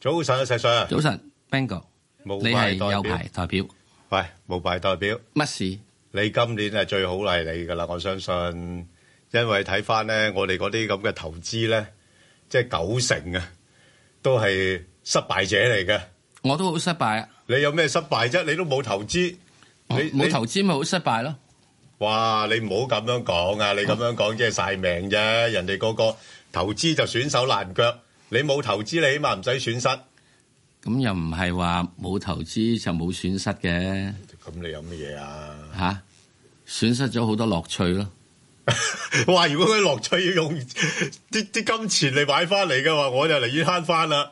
早晨啊，石 Sir。 早晨 ，Bingo，你係有牌代表。 喂，無牌代表。 乜事？ 你今年係最好係你㗎啦，我相信，因為睇翻咧，我哋嗰啲咁嘅投資咧，即係90%啊，都係失敗者嚟嘅。 我都好失敗啊！ 你有咩失敗啫？你都冇投資，你冇投資咪好失敗咯？ 哇！你唔好咁樣講啊！你咁樣講即係曬命啫。人哋個個投資就損手爛腳，你冇投資，你起碼唔使損失。 咁又唔係話冇投資就冇損失嘅。 咁你有乜嘢啊？ 嚇，損失咗好多樂趣咯。 哇！如果佢樂趣要用啲金錢嚟買翻嚟嘅話，我就寧願慳翻啦。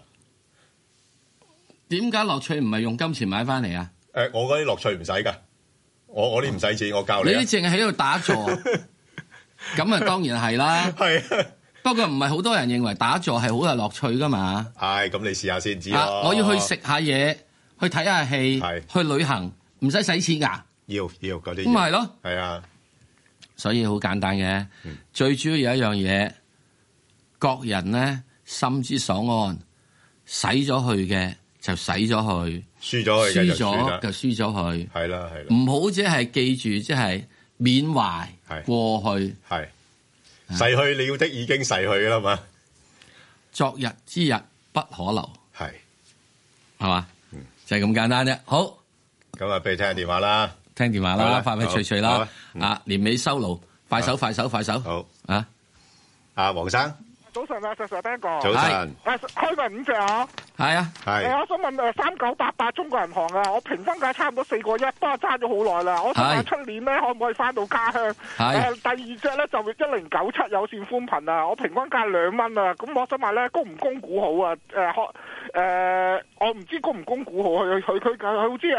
點解樂趣唔係用金錢買翻嚟啊？ 我嗰啲樂趣唔使㗎，我啲唔使錢，我教你。 你啲淨係喺度打坐，咁啊當然係啦。 係啊， 不過唔係好多人認為打坐係好有樂趣噶嘛。 係，咁你試下先知咯。 我要去食下嘢，去睇下戲，去旅行，唔使使錢㗎。 要嗰啲。 咁咪係咯。 係啊， 所以好簡單嘅，最主要有一樣嘢，各人咧心之所安，使咗去嘅就使咗去， 輸咗就輸咗去。 係啦。 唔好只係記住，即係緬懷過去。 係逝去了的已經逝去啦嘛。 昨日之日不可留。 係嘛？就係咁簡單啫。好， 咁啊，俾你聽下電話啦。 聽電話啦，快快脆脆啦。年尾收爐，快手。 好啊，阿黃生。 早晨啊，石 Sir Ben 哥。 早晨。 開埋5隻啊。 係啊。 係。 我想問3988中國銀行啊，我平分價差唔多4個1，不過揸咗好耐啦。我想問出年咧可唔可以翻到家鄉？第二隻咧就1097有線寬頻啊，我平均價2蚊啊。咁我想問咧，供唔供股好啊？我唔知供唔供股好，佢好似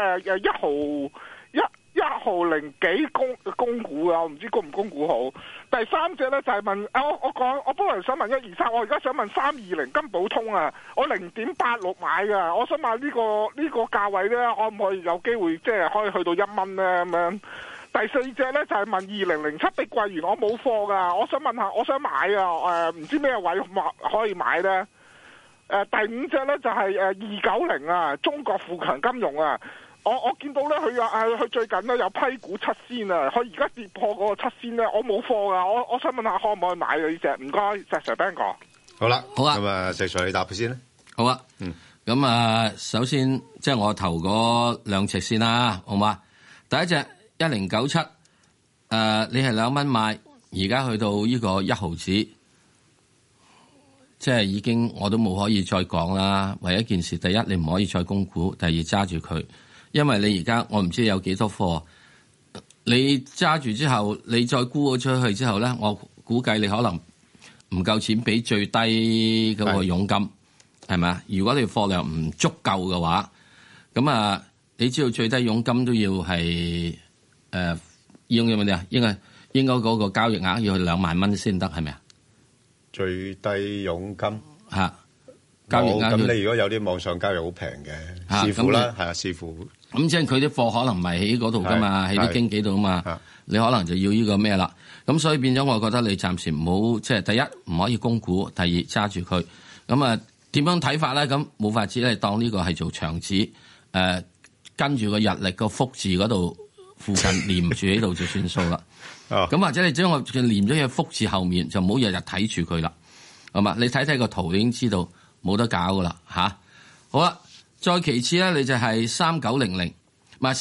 1毫零幾供股啊，我唔知供唔供股好。第三隻咧就係問我本來想問123，我而家想問320金寶通啊，我0.86買噶，我想問呢個價位咧，可唔可以有機會即係可以去到1蚊咧咁樣？第四隻咧就係問2007碧桂園，我冇貨噶，我想問下，我想買啊，唔知咩位可以買咧？第五隻咧就係290啊，中國富強金融啊。我見到咧，佢最近咧有批股7仙啊，佢而家跌破嗰個7仙咧，我冇貨噶，我想問下可唔可以買呢隻？唔該，石 Sir Ben 哥。 好啦， 好啊。 咁啊，石 Sir 你答佢先啦。 好啊。咁啊，首先即係我投嗰兩隻先啦，好嘛？第一隻1097，你係2蚊買，而家去到呢個1毫子，即係已經我都冇可以再講啦。唯一件事，第一你唔可以再供股，第二揸住佢。因為你而家我唔知有幾多貨，你揸住之後，你再沽咗出去之後咧，我估計你可能唔夠錢俾最低嗰個佣金，係咪啊？如果你貨量唔足夠嘅話，咁啊，你知道最低佣金都要係要乜嘢啊？應該嗰個交易額要去2萬蚊先得，係咪啊？ 最低佣金嚇，交易額咁你如果有啲網上交易好平嘅，視乎啦，係啊，視乎。咁即係佢啲貨可能唔係喺嗰度噶嘛，喺啲經紀度啊嘛，你可能就要呢個咩啦。咁所以變咗，我覺得你暫時唔好，即係第一唔可以供股，第二揸住佢。咁啊點樣睇法咧？咁冇法子咧，當呢個係做長子，跟住個日曆個福字嗰度附近連住喺度就算數啦。咁或者你將我連咗喺福字後面，就唔好日日睇住佢啦。係嘛？你睇睇個圖，你已經知道冇得搞噶啦嚇。好啦。再其次咧，你就係3900，唔係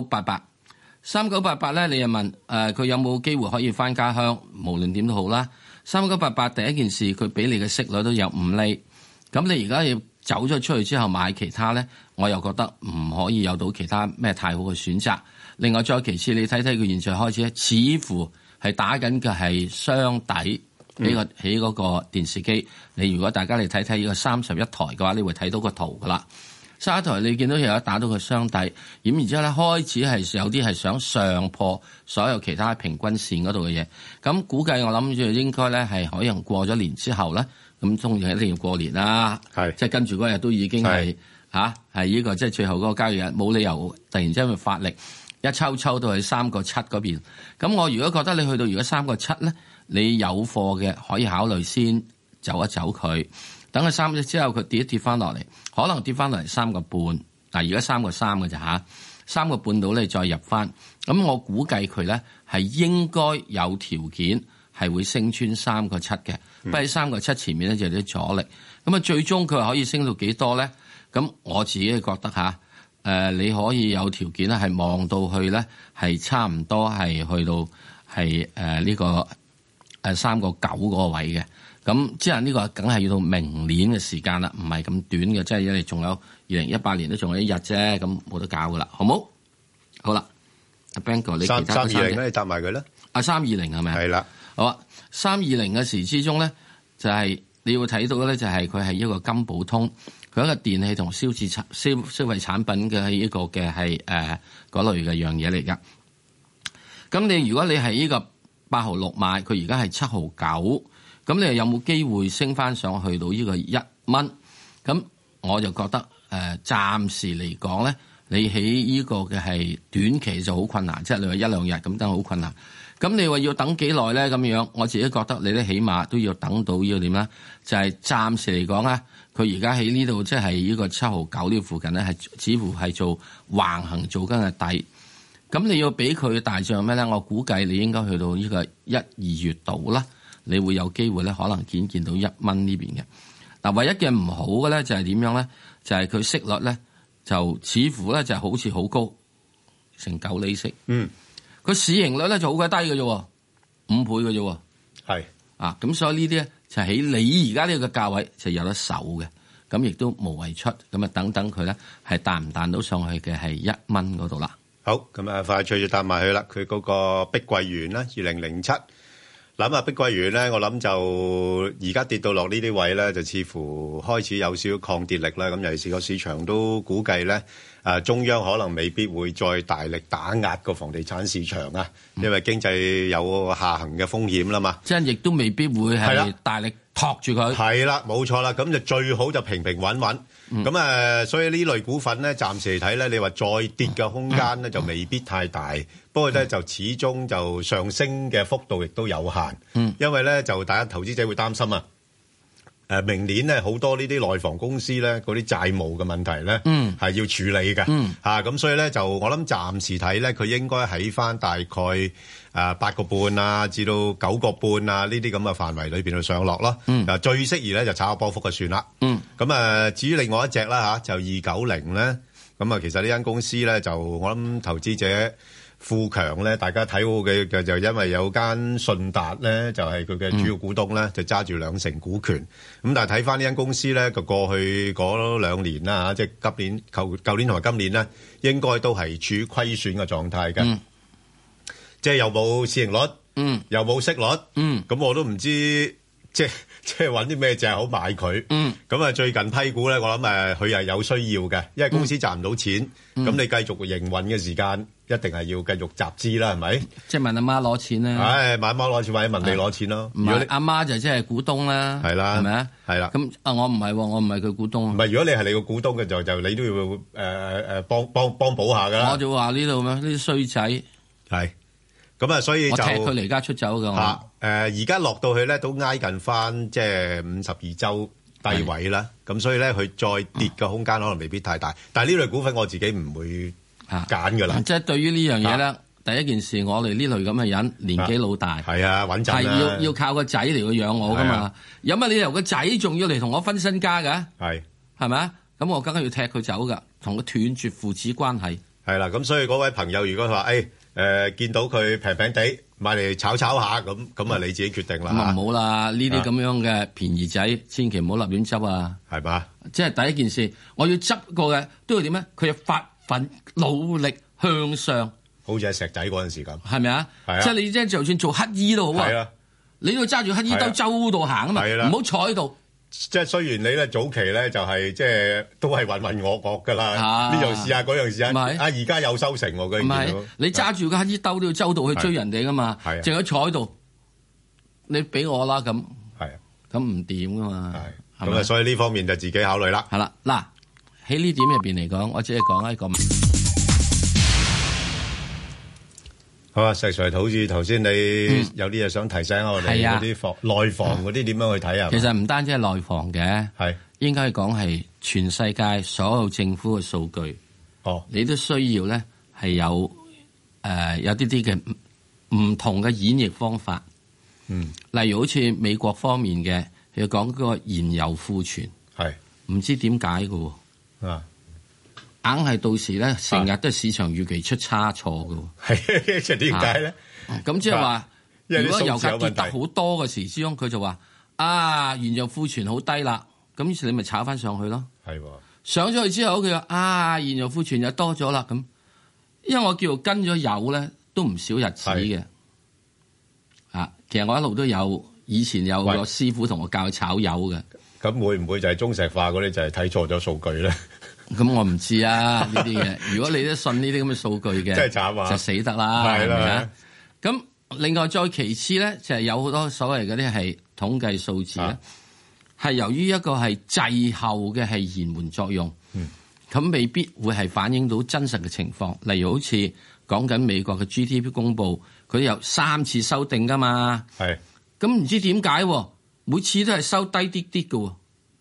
3988。3988咧，你又問佢有冇機會可以翻家鄉？無論點都好啦。3988第一件事，佢俾你嘅息率都有5厘。咁你而家要走咗出去之後買其他咧，我又覺得唔可以有到其他咩太好嘅選擇。另外再其次，你睇睇佢現在開始咧，似乎係打緊嘅係雙底喺嗰個電視機。你如果大家嚟睇睇呢個31台嘅話，你會睇到個圖噶啦。沙台你見到有一打到個雙底，咁然之後咧開始係有啲係想上破所有其他平均線嗰度嘅嘢，咁估計我諗住應該咧係可能過咗年之後咧，咁當然一定要過年啦，即係跟住嗰日都已經係係呢個即係最後嗰個交易日，冇理由突然之間會發力一抽到去3個7嗰邊。咁我如果覺得你去到如果3個7咧，你有貨嘅可以考慮先走一走佢。 等佢3隻之後，佢跌一跌翻落嚟，可能跌翻落嚟3個半。嗱，而家3個3嘅咋嚇，3個半到咧再入翻。咁我估計佢咧係應該有條件係會升穿3個7嘅，不過喺3個7前面咧就有啲阻力。咁啊，最終佢可以升到幾多咧？咁我自己覺得你可以有條件咧係望到去咧係差唔多係去到係呢個3個9嗰個位嘅。咁即係呢個梗係要到明年嘅時間啦，唔係咁短嘅，即係因為仲有2018年都仲有1日啫，咁冇得搞噶啦，好冇？好啦，阿 Ben 哥，你其他 320咧，你答埋佢啦。 320係咪？係啦。 好啊，320嘅時之中咧，就係你要睇到嘅咧，就係佢係一個金寶通，佢一個電器同消費產品嘅一個嘅係嗰類嘅樣嘢嚟噶。咁你如果你係呢個8號6買，佢而家係7號9。咁你又有冇機會升翻上去到呢個1蚊？咁我就覺得暫時嚟講咧，你喺呢個嘅係短期就好困難，即係你話1-2日咁等好困難。咁你話要等幾耐咧？咁樣我自己覺得你咧起碼都要等到呢個點咧？就係暫時嚟講咧，佢而家喺呢度即係呢個7號9呢附近咧，係似乎係做橫行做緊嘅底。咁你要俾佢大漲咩咧？我估計你應該去到呢個1-2月度啦。你會有機會咧，可能見到1蚊呢邊嘅。嗱，唯一嘅唔好嘅咧就係點樣咧？就係佢息率咧，就似乎咧就好似好高，成9厘息。佢市盈率咧就好鬼低嘅啫，5倍嘅啫。 係啊，咁所以呢啲咧就喺你而家呢個價位就有得守嘅，咁亦都無謂出，咁啊等等佢咧係彈唔彈到上去嘅係1蚊嗰度啦。 好，咁啊快脆就答埋佢啦。佢嗰個碧桂園啦，2007。諗下碧桂園咧，我諗就而家跌到落呢啲位咧，就似乎開始有少少抗跌力啦。咁尤其是個市場都估計咧，中央可能未必會再大力打壓個房地產市場啊，因為經濟有下行嘅風險啦嘛。 即係亦都未必會係大力托住佢。係啦，冇錯啦。咁就最好就平平穩穩。咁所以呢類股份咧，暫時嚟睇咧，你話再跌嘅空間咧就未必太大。不過咧就始終就上升嘅幅度亦都有限。因為咧就大家投資者會擔心啊。明年咧好多呢啲內房公司咧嗰啲債務嘅問題咧係要處理嘅。咁所以咧就我諗暫時睇咧，佢應該喺翻大概8個半啊至到9個半啊呢啲咁嘅範圍裏邊去上落咯。最適宜咧就炒下波幅就算啦。咁至於另外一隻啦就290咧，咁其實呢間公司咧就我諗投資者富強咧，大家睇好嘅就因為有間信達咧，就係佢嘅主要股東咧，就揸住2成股權。咁但係睇翻呢間公司咧，個過去嗰2年啦即係今年、舊年同埋今年咧，應該都係處於虧損嘅狀態嘅。即係又冇市盈率，又冇息率，咁我都唔知即係揾啲咩隻好買佢。咁最近批股咧，我諗佢係有需要嘅，因為公司賺唔到錢，咁你繼續營運嘅時間，一定係要繼續集資啦，係咪？即係問阿媽攞錢啦。問阿媽攞錢，或者問你攞錢咯。如果阿媽就即係股東啦，係啦，係咪啊？係啦。咁我唔係喎，我唔係佢股東。唔係，如果你係你個股東嘅就你都要幫補下噶啦。我就話呢度咩？呢啲衰仔係。咁所以就我踢佢離家出走㗎。而家落到去咧，都挨近翻即係52周低位啦。咁所以咧，佢再跌嘅空間可能未必太大。但係呢類股份我自己唔會揀㗎啦。即係對於呢樣嘢咧，第一件事我哋呢類咁嘅人年紀老大，係穩陣啦，係要靠個仔嚟去養我㗎嘛。有乜理由個仔仲要嚟同我分身家㗎？係咪啊？咁我梗係要踢佢走㗎，同佢斷絕父子關係。係啦，咁所以嗰位朋友如果話見到佢平平地買嚟炒炒下咁啊，你自己決定啦。咁啊唔好啦，呢啲咁樣嘅便宜仔，千祈唔好立亂執啊。係嘛？即係第一件事，我要執過嘅都要點咧？佢要發奮努力向上，好似係石仔嗰陣時咁，係咪啊？即係你即係就算做乞衣都好啊，你要揸住乞衣兜周度行啊嘛，唔好坐喺度。即係雖然你咧早期咧就係即係都係渾渾噩噩噶啦，呢樣試下嗰樣試下，而家有收成喎，佢唔係你揸住個乞衣兜都要周到去追人哋噶嘛，淨係坐喺度，你俾我啦咁，咁唔掂噶嘛，咁啊所以呢方面就自己考慮啦。係啦，嗱喺呢點入邊嚟講，我只係講一個。 好啊，石 Sir，好似頭先你有啲嘢想提醒我哋嗰啲內房嗰啲點樣去睇啊？ 其實唔單止係內房嘅， 係應該講係全世界所有政府嘅數據。你都需要咧係有有啲嘅唔同嘅演繹方法。例如好似美國方面嘅，佢講嗰個燃油庫存，係唔知點解嘅喎。硬係到時咧，成日都係市場預期出差錯嘅。 係，即係點解咧？ 咁即係話，如果油價跌得好多嘅時之中，佢就話原油庫存好低啦，咁於是你咪炒翻上去咯。係上咗去之後，佢話原油庫存又多咗啦。咁因為我叫跟咗油咧，都唔少日子嘅。其實我一路都有，以前有個師傅同我教炒油嘅。咁會唔會就係中石化嗰啲就係睇錯咗數據咧？ 咁我唔知啊，呢啲嘢。如果你都信呢啲咁嘅數據嘅， 真係慘啊， 就死得啦，係咪啊？咁另外再其次咧，就係有好多所謂嗰啲係統計數字咧，係由於一個係滯後嘅係延緩作用，咁未必會係反映到真實嘅情況。例如好似講緊美國嘅 GDP 公佈，佢有3次修訂噶嘛，係咁唔知點解每次都係收低啲啲嘅，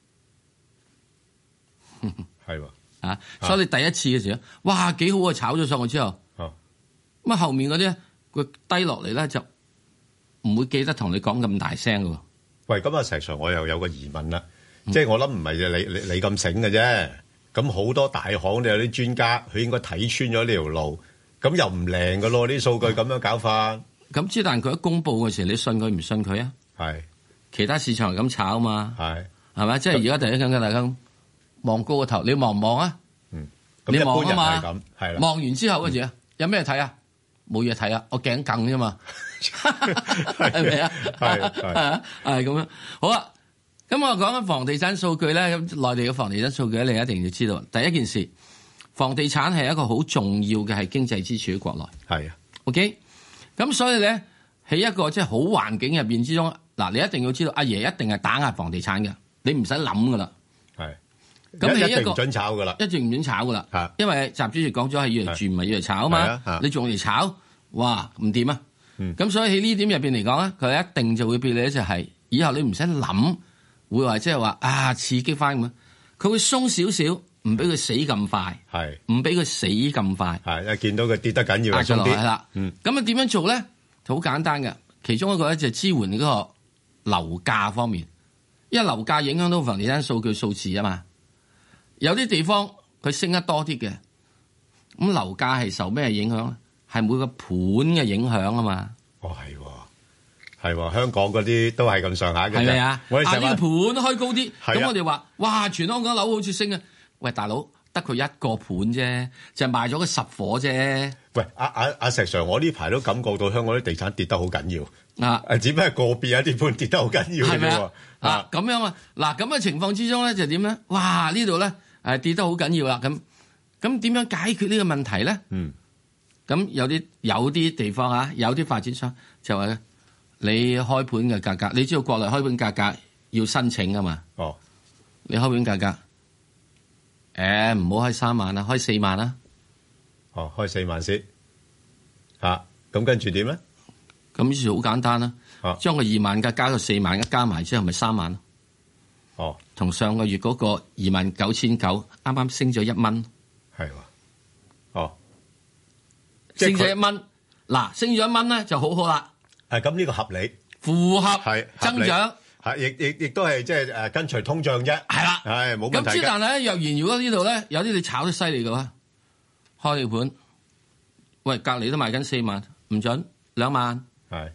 係所以你第一次嘅時候，哇幾好啊！炒咗上去之後，咁後面嗰啲佢低落嚟咧就唔會記得同你講咁大聲嘅。 喂，咁啊石 Sir，我又有個疑問啦，即係我諗唔係你咁醒嘅啫，咁好多大行都有啲專家，佢應該睇穿咗呢條路，咁又唔靈嘅咯，啲數據咁樣搞法。咁之但佢一公佈嘅時候，你信佢唔信佢啊？係其他市場係咁炒嘛？係咪？即係而家第一間嘅大家望高個頭，你望唔望啊？你望啊嘛，係啦。望完之後嗰時有咩睇啊？冇嘢睇啊，我頸梗啫嘛，係咪啊？係咁樣。好啊，咁我講緊房地產數據咧，咁內地嘅房地產數據你一定要知道。第一件事，房地產係一個好重要嘅係經濟支柱喺國內。係啊 ，OK。咁所以咧，喺一個即係好環境入邊之中，嗱，你一定要知道，阿爺一定係打壓房地產嘅，你唔使諗噶啦。係。咁你一定唔准炒噶啦，一定唔准炒噶啦，因為習主席講咗係要嚟住唔係要嚟炒啊嘛，你仲嚟炒，哇唔掂啊！咁所以喺呢點入邊嚟講咧，佢一定就會俾你一隻係，以後你唔使諗，會話即係話刺激翻咁，佢會鬆少少，唔俾佢死咁快，係唔俾佢死咁快，係一見到佢跌得緊要，壓咗落嚟啦。咁啊點樣做咧？好簡單嘅，其中一個咧就係支援嗰個樓價方面，因為樓價影響到房地產數據數字啊嘛。有啲地方佢升得多啲嘅，咁樓價係受咩影響咧？係每個盤嘅影響啊嘛。哦，係香港嗰啲都係咁上下嘅。係咪啊？我哋成日呢個盤開高啲，咁我哋話哇，全香港樓好似升啊！喂，大佬得佢一個盤啫，就賣咗個10伙啫。喂，阿石 Sir，我呢排都感覺到香港啲地產跌得好緊要只不過個別有啲盤跌得好緊要嘅啫。咁樣啊，嗱咁嘅情況之中咧，就點咧？哇，呢度咧跌得好緊要啦。咁點樣解決呢個問題咧？咁有啲地方有啲發展商就話咧，你開盤嘅價格，你知道國內開盤價格要申請噶嘛？哦，你開盤價格，唔好開3萬啦，開4萬啦。哦，開4萬先。咁跟住點咧？咁於是好簡單啦，將個2萬加到4萬，加埋之後咪3萬咯。哦，同上個月嗰個29,900啱啱升咗1蚊。係喎。哦，升咗1蚊。嗱，升咗1蚊咧就好啦。咁呢個合理，符合增長。亦都係即係跟隨通脹啫。係啦。係冇問題嘅。咁之但係咧，若然如果呢度咧有啲你炒得犀利嘅話，開條盤，喂，隔離都賣緊4萬，唔準2萬。係。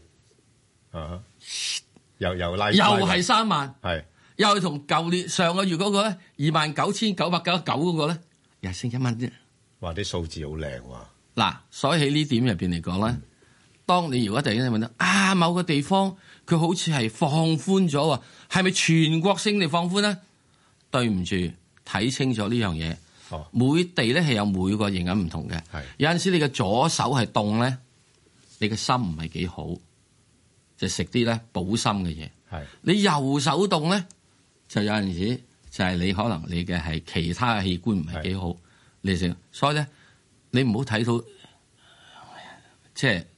又拉，又係3萬。係。又係同舊年上個月嗰個咧29,999嗰個咧，又升1蚊啫。哇！啲數字好靚喎。嗱，所以喺呢點入邊嚟講咧，當你如果突然間問到某個地方佢好似係放寬咗喎，係咪全國性地放寬咧？對唔住，睇清楚呢樣嘢。哦。每地咧係有每個營養唔同嘅。係。有陣時你嘅左手係凍咧，你嘅心唔係幾好，就食啲咧補心嘅嘢。係。你右手凍咧？就有陣時就係你可能你嘅係其他嘅器官唔係幾好，你食，所以咧你唔好睇到即係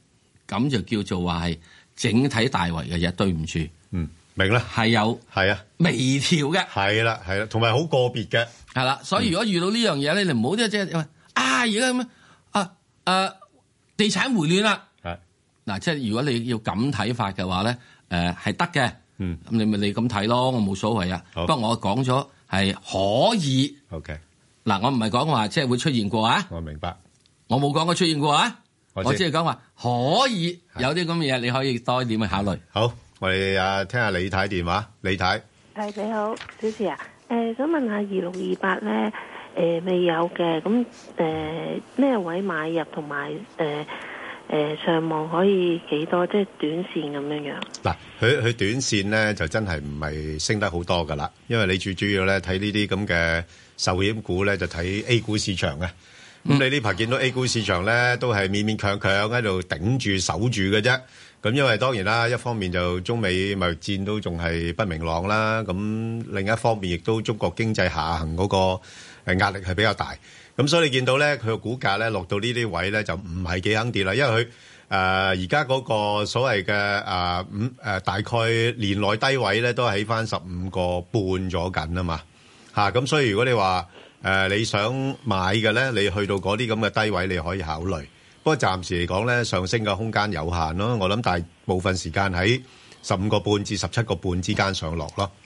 咁就叫做話係整體大圍嘅嘢，對唔住。 明啦， 係有係啊， 微調嘅， 係啦，同埋好個別嘅， 係啦。所以如果遇到呢樣嘢咧，你唔好即係而家咁地產回暖啦。係嗱，即係如果你要咁睇法嘅話咧，係得嘅。咁你咪你咁睇咯，我冇所謂啊。不過我講咗係可以。OK。嗱，我唔係講話即係會出現過啊。我明白。我冇講過出現過啊。我只係講話可以有啲咁嘅嘢，你可以多點去考慮。好。我哋聽下李太電話，李太。 係你好，小士啊，想問下2628咧，未有嘅，咁咩位買入同埋上望可以幾多？即係短線咁樣樣。嗱， 佢短線咧就真係唔係升得好多噶啦，因為你最主要咧睇呢啲咁嘅壽險股咧就睇 A 股市場嘅。咁你呢排見到 A 股市場咧都係勉勉強強喺度頂住守住嘅啫。咁因為當然啦，一方面就中美貿易戰都仲係不明朗啦，咁另一方面亦都中國經濟下行嗰個壓力係比較大，咁所以你見到咧佢個股價咧落到呢啲位咧就唔係幾肯跌啦，因為佢而家嗰個所謂嘅大概年內低位咧都係喺翻15個半咗緊啊嘛，咁所以如果你話你想買嘅咧，你去到嗰啲咁嘅低位你可以考慮。不過暫時嚟講咧，上升嘅空間有限咯。我諗大部分時間喺15個半至17個半之間上落咯。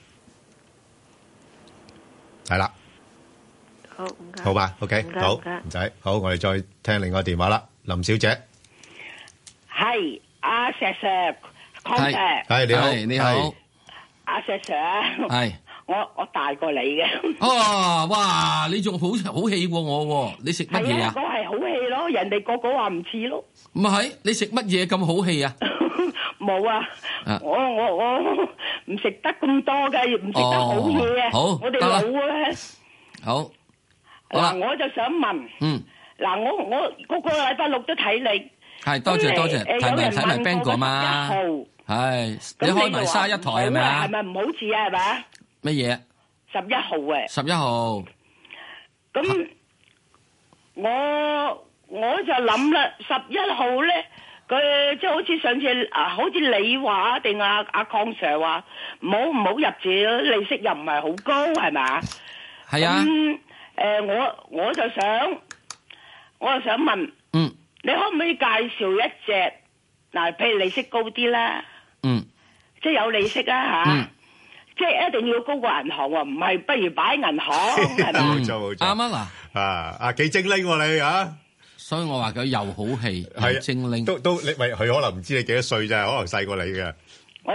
係啦， 好唔該， 好吧 ，OK，好，唔使，好，我哋再聽另外電話啦，林小姐， 係阿石 Sir， 係你好， 你好， 阿石 Sir，係。我大過你嘅。 哇！你仲好氣過我喎？你食乜嘢啊？ 我係好氣咯，人哋個話唔似咯。 唔係，你食乜嘢咁好氣啊？ 冇啊！我唔食得咁多嘅，唔食得好嘢啊！ 好， 我哋老啊。 好。 嗱，我就想問。嗱，我個禮拜六都睇你。 係，多謝。睇埋 Bang 哥嘛。係。你開埋31台係咪啊？ 係咪唔好似啊？係咪？ 乜嘢 ？11號嘅。 11號。 咁我就諗啦，11號咧，佢即係好似上次好似你話定阿鄺 Sir 話，唔好入住，利息又唔係好高，係咪？係啊。我就想問，你可唔可以介紹一隻嗱，譬如利息高啲啦，即係有利息啊吓。即係一定要高過銀行喎，唔係不如擺銀行係咪？ 冇錯啱啊嗱，幾精靈喎你啊！ 所以我話佢又好氣又精靈， 都你喂佢可能唔知你幾多歲咋，可能細過你嘅。 我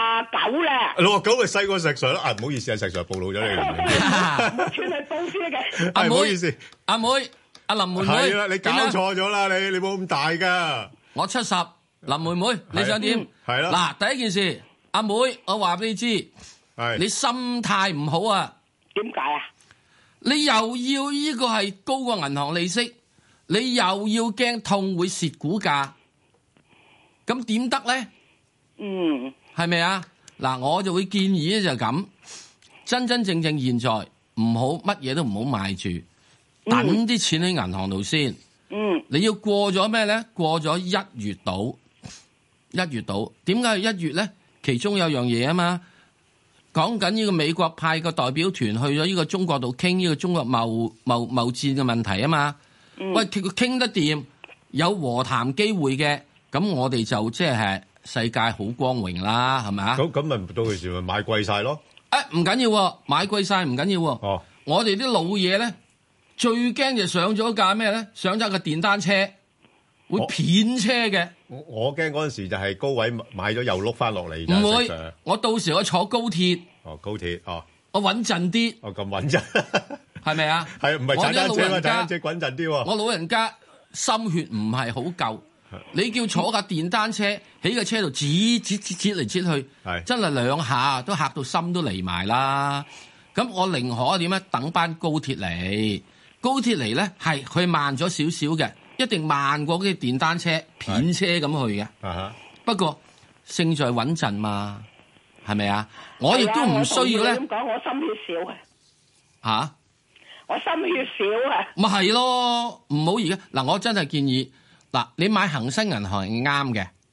69啦。 69咪細過石 Sir 咯，唔好意思啊，石 Sir 暴露咗你。 全係報書嘅。 阿妹， 唔好意思， 阿妹，阿林妹妹， 係啦，你搞錯咗啦，你冇咁大噶。 我70，林妹妹你想點？ 係啦。 嗱，第一件事，阿妹，我話俾你知。你心態唔好啊？ 點解啊？ 你又要呢個係高過銀行利息，你又要驚痛會蝕股價，咁點得咧？係咪啊？嗱，我就會建議咧就咁，真真正正現在唔好乜嘢都唔好買住，等啲錢喺銀行度先。你要過咗咩咧？過咗1月度，點解係1月咧？其中有樣嘢啊嘛。講緊呢個美國派個代表團去咗呢個中國度傾呢個中國貿戰嘅問題啊嘛，喂，佢傾得掂，有和談機會嘅，咁我哋就即係世界好光榮啦，係咪啊？咁咪唔到時咪買貴晒咯？ 唔緊要，買貴晒唔緊要。我哋啲老嘢咧最驚就上咗架咩咧？上咗個電單車會片車嘅。 我驚嗰陣時就係高位買咗又碌翻落嚟。 唔會，我到時我坐高鐵。 高鐵我穩陣啲。 咁穩陣，係咪啊？ 係唔係踩單車嘛？踩單車穩陣啲喎。 我老人家心血唔係好夠，你叫坐架電單車喺個車度折嚟折去，真係2下都嚇到心都離埋啦。咁我寧可點咧？等班高鐵嚟，高鐵嚟咧係佢慢咗少少嘅。一定慢過嗰啲電單車片車咁去嘅，不過勝在穩陣嘛，係咪啊？我亦都唔需要咧。 咁講，我心血少啊。 吓？ 我心血少啊。 咪係咯，唔好而家嗱，我真係建議嗱，你買恒生銀行係啱嘅，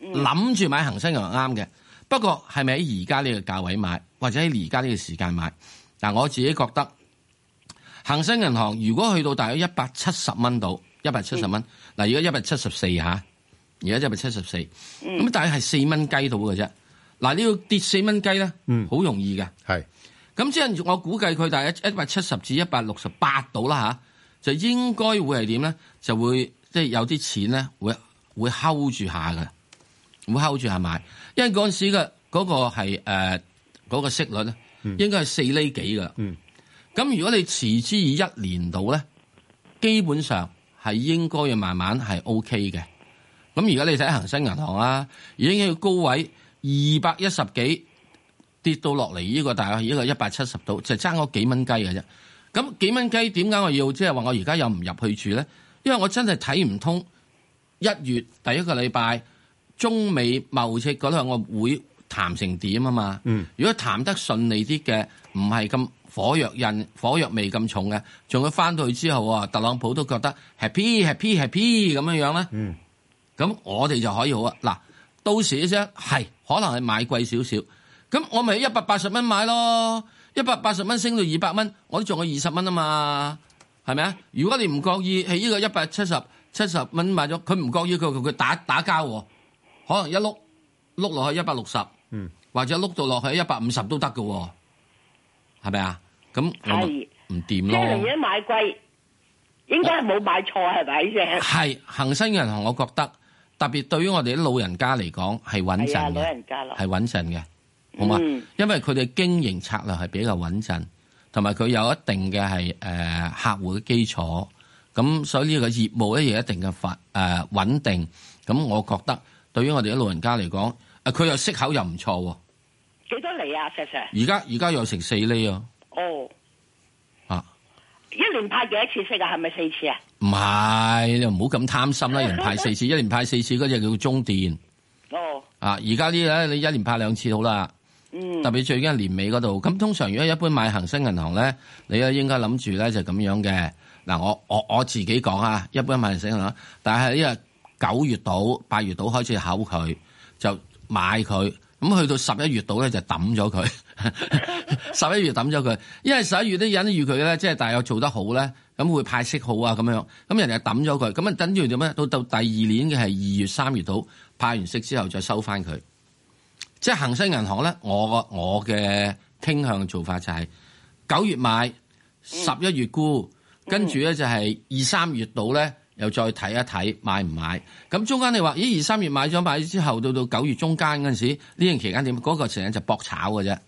諗住買恒生銀行啱嘅。不過係咪喺而家呢個價位買，或者喺而家呢個時間買？嗱，我自己覺得恒生銀行如果去到大約170蚊到170蚊，嗱，而家174嚇，而家174，咁大約係4蚊雞到嘅啫。嗱，你要跌4蚊雞咧，好容易嘅。 係， 咁即係我估計佢大約170至168到啦嚇，就應該會係點咧？就會即係有啲錢咧，會 hold 住下嘅，會 hold 住下買，因為嗰陣時嘅嗰個係嗰個息率咧，應該係4厘幾㗎。咁如果你持之以1年度咧，基本上係應該要慢慢係 OK 嘅。咁而家你睇恒生銀行啊，已經要高位210幾跌到落嚟呢個大概呢個170度，就爭嗰幾蚊雞嘅啫。咁幾蚊雞點解我要即係話我而家又唔入去住咧？因為我真係睇唔通1月第一個禮拜中美貿易嗰兩個會談成點啊嘛。如果談得順利啲嘅，唔係咁火藥味咁重嘅，仲要翻到去之後啊，特朗普都覺得 happy 咁樣樣咧。咁我哋就可以好啊。嗱，到時啫係可能係買貴少少，咁我咪180蚊買咯，180蚊升到200蚊，我都仲有20蚊啊嘛，係咪啊？如果你唔覺意係呢個170蚊買咗，佢唔覺意佢打交喎，可能一碌落去160，或者碌到落去150都得㗎喎，係咪啊？咁我唔掂咯。 即係寧願買貴，應該係冇買錯係咪啫？ 係恒生銀行，我覺得特別對於我哋啲老人家嚟講係穩陣嘅， 老人家咯， 係穩陣嘅，好嘛？因為佢哋經營策略係比較穩陣，同埋佢有一定嘅係客戶嘅基礎，咁所以呢個業務咧有一定嘅穩定。咁我覺得對於我哋啲老人家嚟講，佢又息口又唔錯喎。 幾多厘啊，石 Sir？ 而家有成4厘啊！ 哦， 啊， 一年派幾多次息啊？係咪4次啊？ 唔係，你唔好咁貪心啦！一年派4次，一年派4次嗰隻叫中電。 哦。啊， 而家呢咧，你一年派2次好啦。特別最緊係年尾嗰度。咁通常如果一般買恒生銀行咧，你咧應該諗住咧就咁樣嘅。嗱，我自己講啊，一般買恒生銀行，但係呢個9月到8月到開始考佢，就買佢。咁去到11月度咧就抌咗佢，11月抌咗佢，因為11月啲人預佢咧，即係大約做得好咧，咁會派息好啊咁樣，咁人哋抌咗佢，咁啊等住點咧？到第二年嘅係2月3月度派完息之後再收翻佢，即係恒生銀行咧，我嘅傾向做法就係9月買，11月沽，跟住咧就係2、3月度咧。又再睇一睇買唔買？咁中間你話，咦？2、3月買咗之後，到9月中間嗰陣時，呢段期間點？嗰個時間就搏炒嘅啫，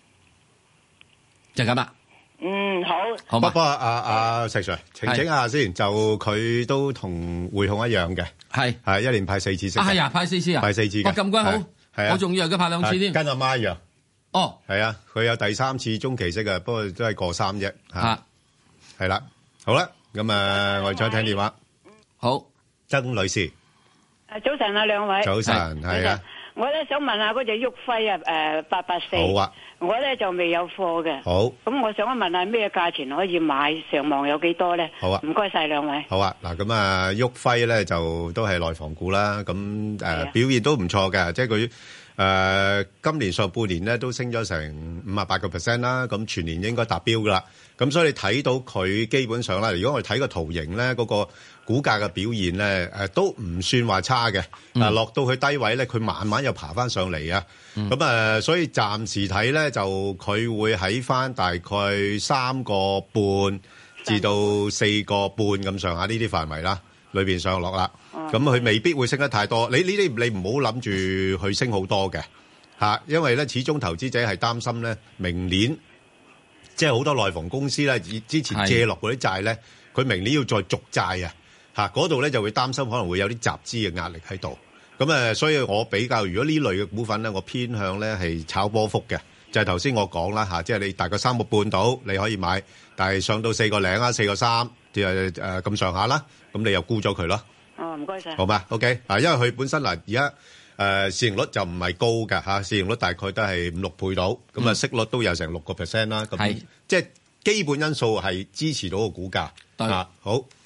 就咁啦。 好。 不過阿石 Sir 澄清下先，就佢都同匯控一樣嘅，係一年派4次息。 係啊，派4次啊， 派4次嘅。 咁鬼好， 係啊， 我仲以為佢派2次添。 跟阿媽一樣。 哦， 係啊，佢有第3次中期息啊，不過都係過3啫。係啦，好啦，咁我哋再聽電話。 好， 曾女士。 早晨啊，兩位。 早晨，係啊。 我咧想問下嗰隻旭輝啊，884。 好啊。 我咧就未有貨嘅。 好。 咁我想問下咩價錢可以買？上望有幾多咧？ 好啊。唔該晒兩位。 好啊，嗱咁啊，旭輝咧就都係內房股啦，咁表現都唔錯嘅，即係佢今年上半年咧都升咗成58%啦，咁全年應該達標噶啦。咁所以你睇到佢基本上啦，如果我哋睇個圖形咧，嗰個股價嘅表現咧，都唔算話差嘅。落到去低位咧，佢慢慢又爬翻上嚟啊。咁所以暫時睇咧，就佢會喺翻大概3個半至到4個半咁上下呢啲範圍啦，裏邊上落啦。咁佢未必會升得太多。你唔好諗住去升好多嘅嚇，因為咧始終投資者係擔心咧明年。即係好多內房公司咧，之前借落嗰啲債咧，佢明年要再續債啊，嗰度咧就會擔心可能會有啲集資嘅壓力喺度。咁所以我比較如果呢類嘅股份咧，我偏向咧係炒波幅嘅，就係頭先我講啦嚇，即係你大概3個半到你可以買，但係上到4個零啊4個3，咁上下啦，咁你又沽咗佢咯。 哦，唔該晒。好嘛 ，OK 因為佢本身嗱而家。市盈率就唔係高㗎嚇，市盈率大概都係5、6倍到，咁啊息率都有成6%啦，咁即係基本因素係支持到個股價。 對， 好，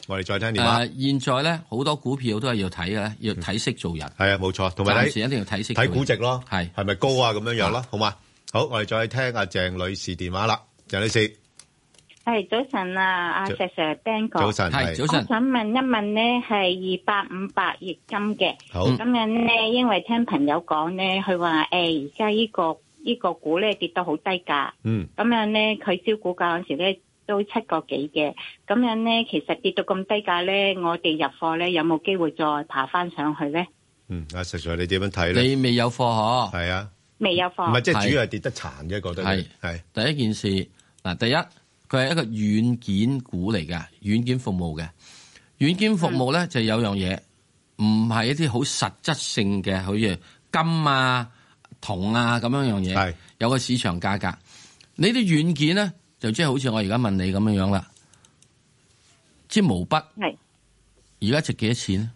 我哋再聽電話。 現在咧好多股票都係要睇嘅，要睇息做人。 係啊，冇錯，同埋暫時一定要睇息睇估值咯， 係咪高啊咁樣樣咯，好嘛？好，我哋再聽阿鄭女士電話啦，鄭女士。 係早晨啊，阿石 Sir Ben 哥。 早晨， 係早晨。 我想問一問咧，係2858億金嘅。 好。 咁樣咧，因為聽朋友講咧，佢話而家呢個股咧跌到好低價。 嗯。 咁樣咧，佢招股價嗰時咧都7個幾嘅。咁樣咧，其實跌到咁低價咧，我哋入貨咧有冇機會再爬翻上去咧？ 阿石 Sir 你點樣睇咧？ 你未有貨嗬？ 係啊。 未有貨。 唔係，即係主要係跌得殘嘅，覺得係。 第一件事嗱，第一佢係一個軟件股嚟嘅，軟件服務嘅。軟件服務咧就有樣嘢，唔係一啲好實質性嘅，好似金啊、銅啊咁樣嘢。係有個市場價格。你啲軟件咧就即係好似我而家問你咁樣啦，支毛筆係而家值幾多錢？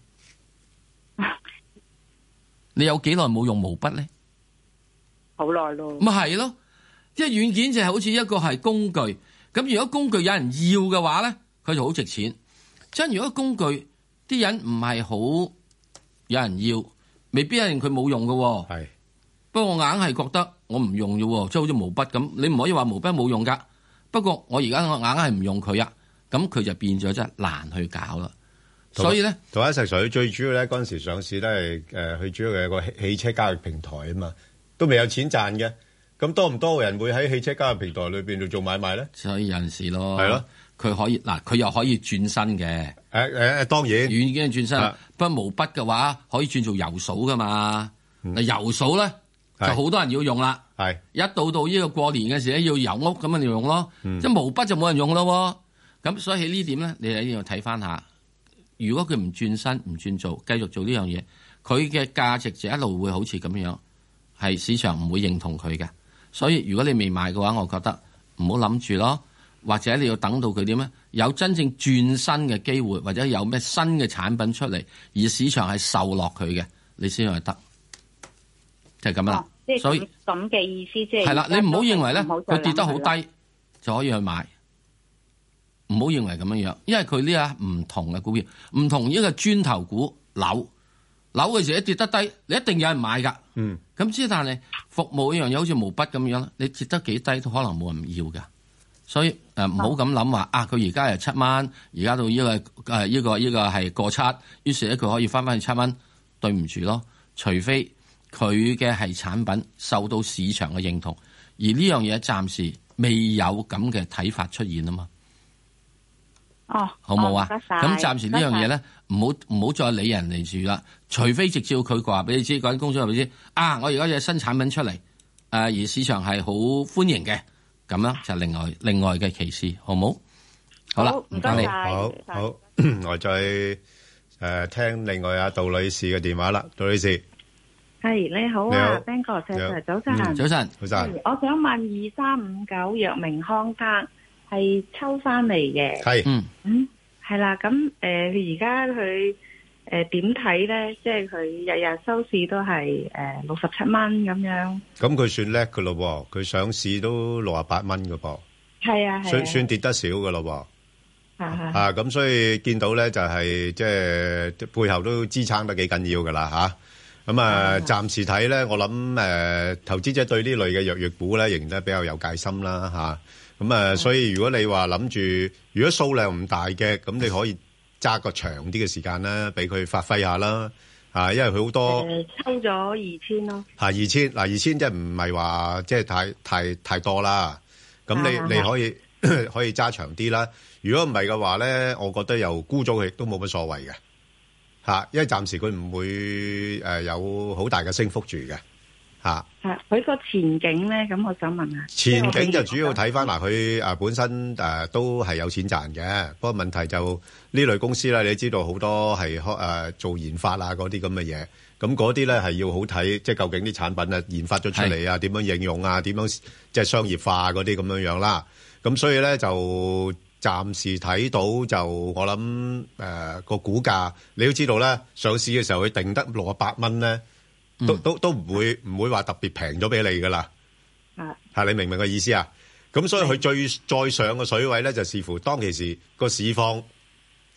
你有幾耐冇用毛筆咧？ 好耐咯， 咪係咯，即係軟件就係好似一個係工具，咁如果工具有人要嘅話咧，佢就好值錢。即係如果工具啲人唔係好有人要，未必一定佢冇用嘅。係，不過我硬係覺得我唔用嘅，即係好似毛筆咁，你唔可以話毛筆冇用噶。不過我而家我硬係唔用佢啊，咁佢就變咗真係難去搞啦。所以咧， 同一齊水最主要咧，嗰陣時上市都係佢主要係個汽車交易平台啊嘛。都未有錢賺嘅，咁多唔多人會喺汽車交易平台裏邊度做買賣咧？ 所以有陣時咯， 係咯， 佢可以嗱，佢又可以轉身嘅。 當然軟件轉身，不過毛筆嘅話可以轉做油數噶嘛。嗱，油數咧就好多人要用啦。係一到呢個過年嘅時咧要油屋咁樣嚟用咯。即係毛筆就冇人用咯。咁所以喺呢點咧，你一定要睇翻下。如果佢唔轉身唔轉做，繼續做呢樣嘢，佢嘅價值就一路會好似咁樣。係市場唔會認同佢嘅，所以如果你未買嘅話，我覺得唔好諗住咯，或者你要等到佢點咧，有真正轉身嘅機會，或者有咩新嘅產品出嚟，而市場係受落佢嘅，你先去得，就係咁啦。所以咁嘅意思即係係啦，你唔好認為咧佢跌得好低就可以去買，唔好認為咁樣樣，因為佢呢下唔同嘅股票，唔同呢個磚頭股樓嘅時候一跌得低，你一定有人買噶。咁之但係服務一樣嘢，好似毛筆咁樣，你跌得幾低都可能冇人要噶。所以唔好咁諗話啊，佢而家係7蚊，而家到呢個係過7，於是咧佢可以翻去7蚊。對唔住咯，除非佢嘅係產品受到市場嘅認同，而呢樣嘢暫時未有咁嘅睇法出現啊嘛。好冇啊？咁暫時呢樣嘢咧，唔好再理人哋住啦。除非直接佢話俾你知，嗰間公司話俾你知啊，我而家有新產品出嚟，而市場係好歡迎嘅，咁樣就另外嘅歧視，好冇？好啦，唔該你。 好，我再聽另外阿杜女士嘅電話啦，杜女士。 係你好啊 ，Ben 哥，早晨，早晨， 早晨， 早晨。 我想問2359藥明康德。係抽翻嚟嘅， 係， 係啦，咁而家佢點睇咧？即係佢日日收市都係67蚊咁樣。咁佢算叻噶咯，佢上市都68蚊噶噃。係啊，算跌得少噶咯。咁所以見到咧就係即係背後都支撐得幾緊要噶啦吓。咁暫時睇咧，我諗投資者對呢類嘅藥業股咧，仍然都比較有戒心啦吓。咁所以如果你話諗住，如果數量唔大嘅，咁你可以揸個長啲嘅時間啦，俾佢發揮下啦，因為佢好多抽咗2000咯。 2000即係唔係話即係太多啦。咁你可以揸長啲啦。如果唔係嘅話咧，我覺得又沽咗佢都冇乜所謂嘅，因為暫時佢唔會有好大嘅升幅住嘅。 佢個前景咧，咁我想問下。 前景就主要睇翻佢本身都係有錢賺嘅，不過問題就呢類公司咧，你知道好多係做研發啊嗰啲咁嘅嘢，咁嗰啲咧係要好睇，即係究竟啲產品啊研發咗出嚟啊，點樣應用啊，點樣即係商業化嗰啲咁樣樣啦。咁所以咧就暫時睇到就我諗個股價，你都知道咧，上市嘅時候佢定得68蚊咧。都唔會話特別平咗俾你噶啦，你明唔明個意思啊？咁所以佢再上嘅水位咧，就視乎當其時個市況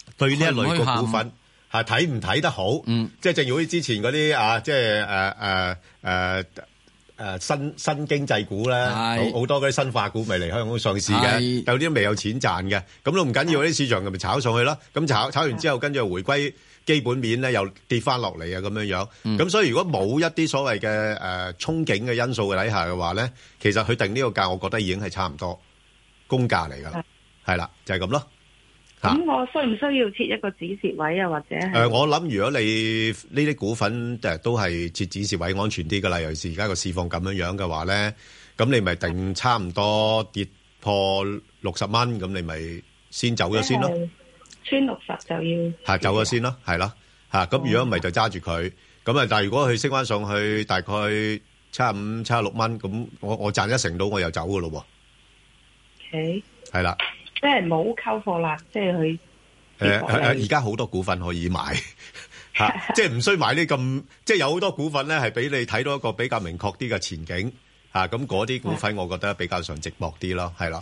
對呢一類嘅股份係睇唔睇得好？即係正如好似之前嗰啲啊，即係新經濟股咧，好多嗰啲新化股咪嚟香港上市嘅，有啲未有錢賺嘅，咁都唔緊要，啲市場咪炒上去咯。咁炒完之後，跟住回歸基本面咧，又跌翻落嚟啊，咁樣樣。咁所以如果冇一啲所謂嘅憧憬嘅因素嘅底下嘅話咧，其實佢定呢個價，我覺得已經係差唔多公價嚟㗎啦。係啦，就係咁咯。 咁我需唔需要設一個止蝕位啊？或者我諗如果你呢啲股份都係設止蝕位安全啲㗎啦，尤其是而家個市況咁樣樣嘅話咧，咁你咪定差唔多跌破60蚊，咁你咪先走咗先咯。 穿60就要走咗先咯，係咯嚇。咁如果唔係就揸住佢，咁啊但係如果佢升翻上去大概75、76蚊，咁我賺1成到我又走㗎咯喎。 OK。 係啦。 即係冇溝貨啦，即係佢而家好多股份可以買即係唔需買呢咁，即係有好多股份咧係俾你睇到一個比較明確啲嘅前景咁嗰啲股份我覺得比較上寂寞啲咯，係啦。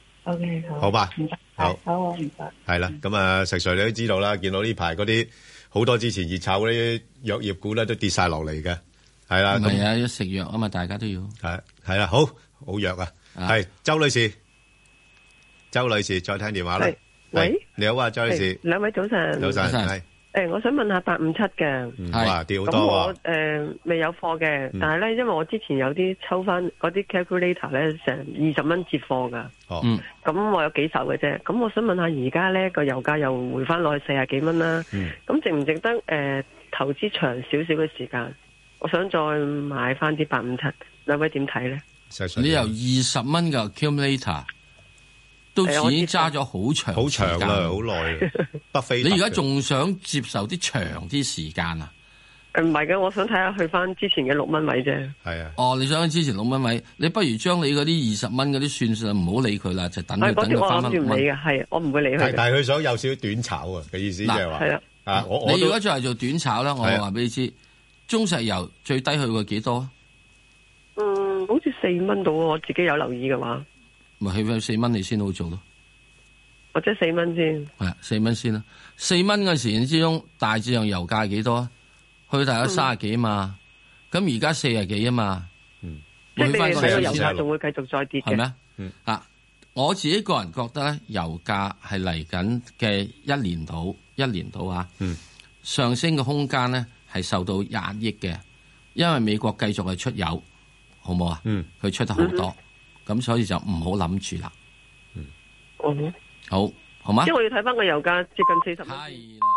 OK， 好吧， 好唔該。 係啦，咁啊石 Sir 你都知道啦，見到呢排嗰啲好多之前熱炒嗰啲藥業股咧都跌晒落嚟嘅，係啦。 係啊，要食藥啊嘛，大家都要係啦，好藥啊，係周女士。周女士，再聽電話啦。 喂， 你好啊，周女士。 兩位早晨。 早晨，係。 我想問下857嘅。 哇，跌好多喎。 咁我未有貨嘅，但係咧，因為我之前有啲抽翻嗰啲 calculator 咧，成20蚊接貨噶。 哦。 咁我有幾手嘅啫。咁我想問下，而家咧個油價又回翻落去40幾蚊啦。咁值唔值得投資長少少嘅時間？我想再買翻啲857，兩位點睇咧？ 你由20蚊嘅 accumulator。都已經揸咗好長啦，好耐。北非， 你而家仲想接受啲長啲時間啊？ 唔係嘅，我想睇下去翻之前嘅6蚊位啫。 係啊。 哦，你想之前6蚊位，你不如將你嗰啲20蚊嗰啲算唔好理佢啦，就等佢翻我諗住唔理嘅，係我唔會理佢。 但係佢想有少少短炒啊嘅意思，即係話。係啦。 你如果再係做短炒咧，我話俾你知，中石油最低去過幾多？ 好似4蚊到，我自己有留意嘅話。 咪去翻4蚊你先好做咯， 或者4蚊先， 係4蚊先啦。4蚊嘅時之中，大致上油價幾多啊？去大約30幾嘛，咁而家40幾啊嘛。 即係你睇個油價仲會繼續再跌嘅， 係咩？我自己個人覺得咧，油價係嚟緊嘅1年到啊，上升嘅空間咧係受到壓抑嘅，因為美國繼續係出油，好冇啊？佢出得好多。咁所以就唔好諗住啦。好嘛？ 因為我要睇翻個油價接近40蚊。 係啦。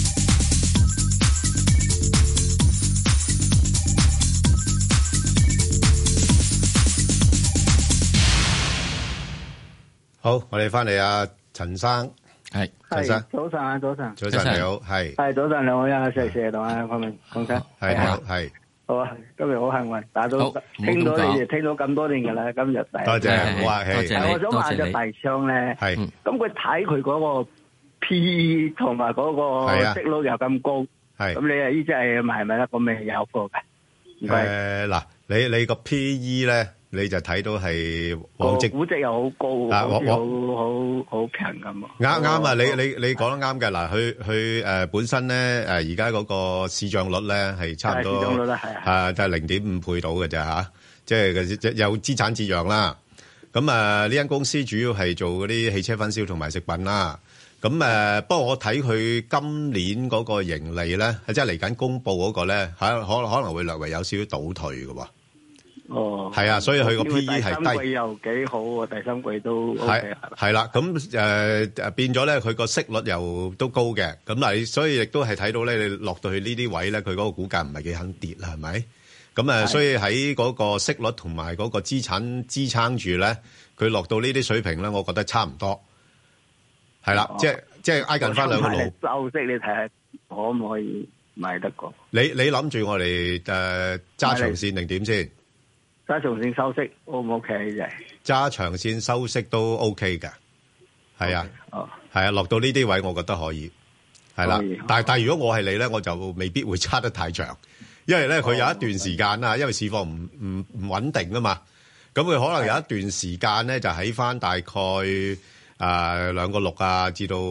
好，我哋翻嚟啊，陳生。係。陳生。 早晨啊，早晨。 早晨你好，係。 係早晨，兩位啊，謝謝同啊，鄺明鄺生。 係好，係。 好啊！今日好幸運，打到聽到你哋聽到咁多年噶啦，今日第多謝，好客氣。 我想問隻大昌咧，咁佢睇佢嗰個 P 同埋嗰個息率又咁高，咁你啊呢隻係咪得？咁咪有貨嘅？ 嗱，你個 P/E 咧，你就睇到係往績估值又好高，好強咁。 啱啊！你講得啱嘅。嗱，佢本身咧而家嗰個市賬率咧係差唔多， 市賬率係就係0.5倍到嘅啫嚇，即係有資產折讓啦。咁呢間公司主要係做嗰啲汽車分銷同埋食品啦。咁不過我睇佢今年嗰個盈利咧，即係嚟緊公佈嗰個咧，可能會略為有少少倒退嘅喎。 哦， 係啊，所以佢個 P/E 係低。 第三季又幾好喎，第三季都 OK 係啦，咁變咗咧，佢個息率又都高嘅，咁嗱，所以亦都係睇到咧，你落到去呢啲位咧，佢嗰個股價唔係幾肯跌啦，係咪？咁所以喺嗰個息率同埋嗰個資產支撐住咧，佢落到呢啲水平咧，我覺得差唔多。係啦，即係挨近翻兩個路。 收息你睇下可唔可以買得過？ 你諗住我哋揸長線定點先？ 揸長線收息 O 唔 OK 啫？ 揸長線收息都 OK 嘅，係啊，係啊，落到呢啲位我覺得可以，係啦。但係如果我係你咧，我就未必會揸得太長，因為咧佢有一段時間啦，因為市況唔穩定啊嘛，咁佢可能有一段時間咧就喺翻大概 2個6啊，至到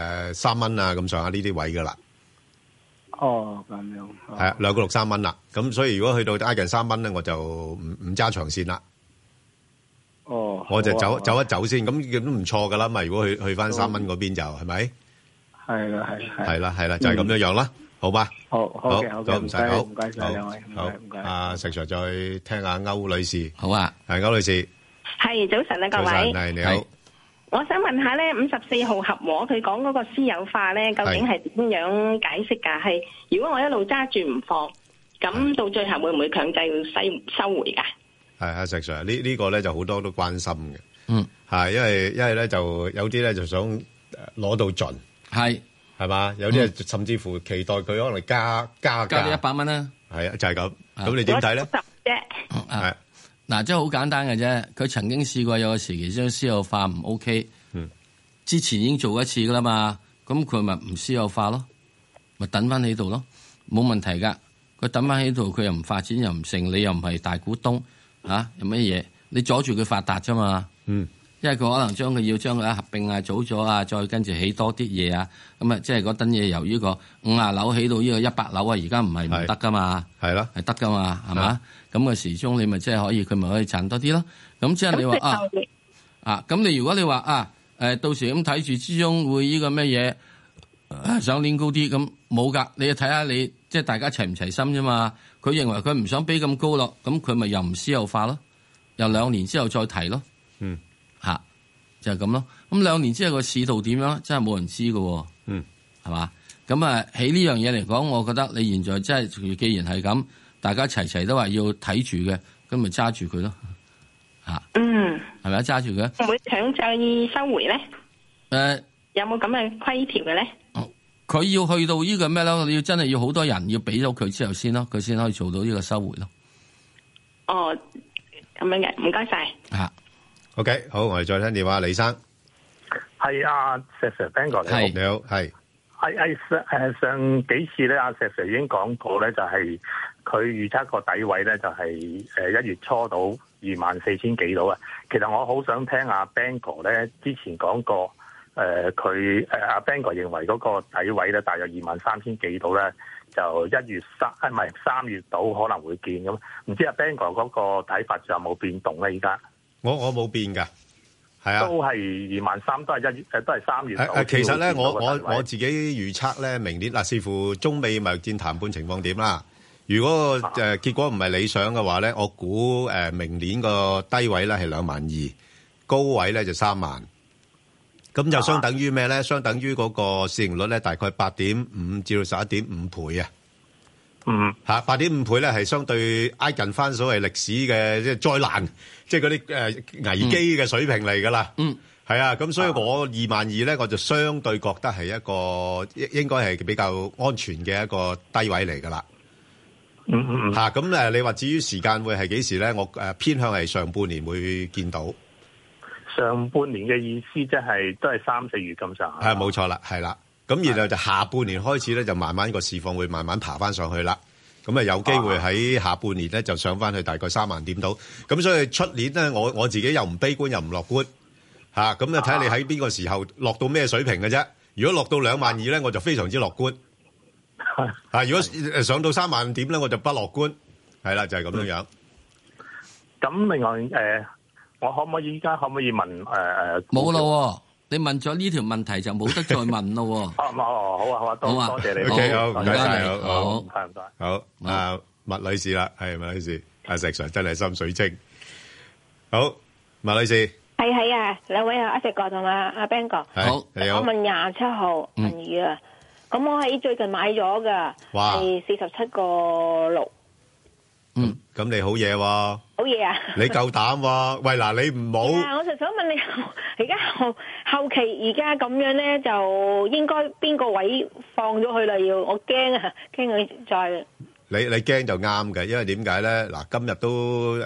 3蚊啊咁上下呢啲位噶啦。 哦，咁樣。 係啊，2個6 3蚊啦。咁所以如果去到挨近3蚊咧，我就唔揸長線啦。 哦， 我就走一走先，咁都唔錯噶啦嘛。如果去翻3蚊嗰邊就係咪？ 係啦， 係啦，就係咁樣樣啦，好吧？ 好嘅， 唔使，好， 唔該晒兩位，唔該。 阿石 Sir 再聽下歐女士， 好啊， 係歐女士， 係早晨啊，各位， 係你好。 我想問下咧，54號合和佢講嗰個私有化咧，究竟係點樣解釋㗎？係如果我一路揸住唔放，咁到最後會唔會強制收回㗎？係阿石 Sir，呢個咧就好多都關心嘅，係因為咧就有啲咧就想攞到盡，係嘛？有啲甚至乎期待佢可能加你 100蚊啦， 係啊，就係咁。咁你點睇咧？ 係嗱，即係好簡單嘅啫。佢曾經試過有個時期將私有化唔 OK，之前已經做一次噶啦嘛。咁佢咪唔私有化咯，咪等翻喺度咯，冇問題噶。佢等翻喺度，佢又唔發展又唔成，你又唔係大股東有乜嘢？你阻住佢發達啫嘛。因為佢可能要將佢合併啊、組咗啊，再跟住起多啲嘢啊。咁啊，即係嗰單嘢由呢個50樓起到呢個100樓啊，而家唔係唔得噶嘛。係咯，係得噶嘛，係嘛？咁嘅時鐘你咪即係可以，佢咪可以賺多啲咯。咁即係你話咁你如果你話到時咁睇住之中會呢個咩嘢想練高啲，咁冇噶。你要睇下你即係大家齊唔齊心啫嘛。佢認為佢唔想俾咁高咯，咁佢咪又唔私有化咯，又2年之後再提咯。就係咁咯。咁2年之後個市道點樣？真係冇人知㗎。係嘛？咁喺呢樣嘢嚟講，我覺得你現在真係既然係咁，大家齊都話要睇住嘅，咁咪揸住佢咯。係咪揸住佢？ 會唔會強制收回咧？有冇咁嘅規條嘅咧？ 佢要去到呢個咩咯？你要真係要好多人要俾咗佢之後先咯，佢先可以做到呢個收回咯。 哦，咁樣嘅，唔該晒。 OK， 好，我哋再聽電話，李生。 係阿石 Sir Ben 哥，你好， 你好，係。 上幾次咧，阿石 Sir 已經講過咧，就係佢預測個底位咧，就係1月初到24,000幾度啊。其實我好想聽阿 Ben 哥咧，之前講過，阿 Ben 哥認為嗰個底位咧，大約23,000幾度咧，就3月度可能會見咁。唔知阿 Ben 哥嗰個睇法仲有冇變動咧？而家？我冇變㗎，係啊， 都係23,000，都係3月。 其實咧，我自己預測咧，明年視乎中美貿易戰談判情況點啦。如果結果唔係理想嘅話咧，我估明年個低位咧係22,000，高位咧就30,000。咁就相等於咩咧？相等於嗰個市盈率咧，大概8.5至到11.5倍啊。8.5倍咧係相對挨近翻所謂歷史嘅即係災難，即係嗰啲危機嘅水平嚟噶啦。係啊，咁所以我22,000咧，我就相對覺得係一個應該係比較安全嘅一個低位嚟噶啦。咁你話至於時間會係幾時咧？我偏向係上半年會見到。 上半年嘅意思即係都係3、4月咁上下。 係冇錯啦，係啦。咁然後就下半年開始咧，就慢慢個市況會慢慢爬翻上去啦。咁有機會喺下半年咧就上翻去大概3萬點度。咁所以出年咧，我自己又唔悲觀又唔樂觀嚇。咁睇下你喺邊個時候落到咩水平嘅啫。如果落到22,000咧，我就非常之樂觀。如果上到3萬點咧，我就不樂觀。係啦，就係咁樣樣。 咁另外我依家可唔可以問冇咯。你問咗呢條問題就冇得再問咯。 好啊，多謝你。 好，唔該你，好， 唔該。 好，麥女士啦，係麥女士，阿石 Sir 真係心水清。好，麥女士。 係啊，兩位阿石哥同阿 Ben 哥。 好， 你好。 我問27號銀魚啊，咁我喺最近買咗噶，係47個6。 咁你好嘢喎，好嘢啊！ 你夠膽喎？喂嗱，你唔好。 我就想問你，而家後期而家咁樣咧，就應該邊個位放咗佢啦？我驚啊，驚佢再。你驚就啱嘅，因為點解咧？嗱，今日都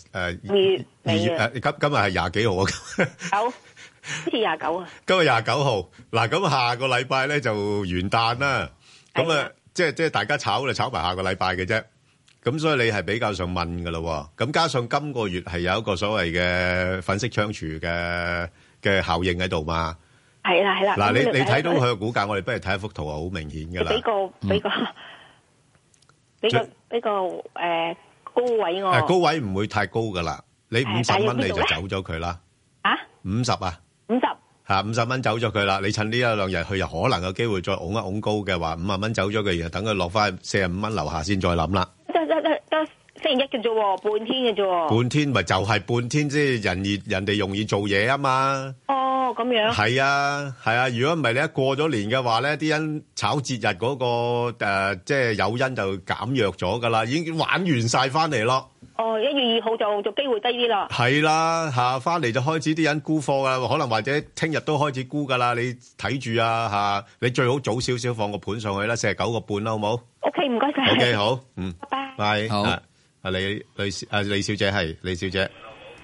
2月今日係20幾號啊？ 好似29啊。 今日29號，嗱咁下個禮拜咧就元旦啦。咁啊，即係大家炒就炒埋下個禮拜嘅啫。咁所以你係比較上問㗎咯喎，咁加上今個月係有一個所謂嘅粉飾櫥窗嘅嘅效應喺度嘛。 係啦。 嗱，你睇到佢嘅股價，我哋不如睇一幅圖啊，好明顯㗎啦。俾個高位我。高位唔會太高㗎啦，你50蚊你就走咗佢啦。50啊？50。50蚊走咗佢啦，你趁呢一兩日佢又可能有機會再拱一拱高嘅話，50蚊走咗佢，然後等佢落翻45蚊樓下先再諗啦。 得星期一嘅啫喎，半天嘅啫喎。 半天咪就係半天啫，人哋容易做嘢啊嘛。 哦，咁樣。係啊，如果唔係你一過咗年嘅話咧，啲人炒節日嗰個即係誘因就減弱咗噶啦，已經玩完晒翻嚟咯。 哦，1月2號就機會低啲啦。 係啦，翻嚟就開始啲人沽貨噶，可能或者聽日都開始沽噶啦，你睇住啊，你最好早少少放個盤上去啦，49個半啦，好冇 ？OK， 唔該晒。 OK， 好， 拜拜。 好。李小姐係李小姐，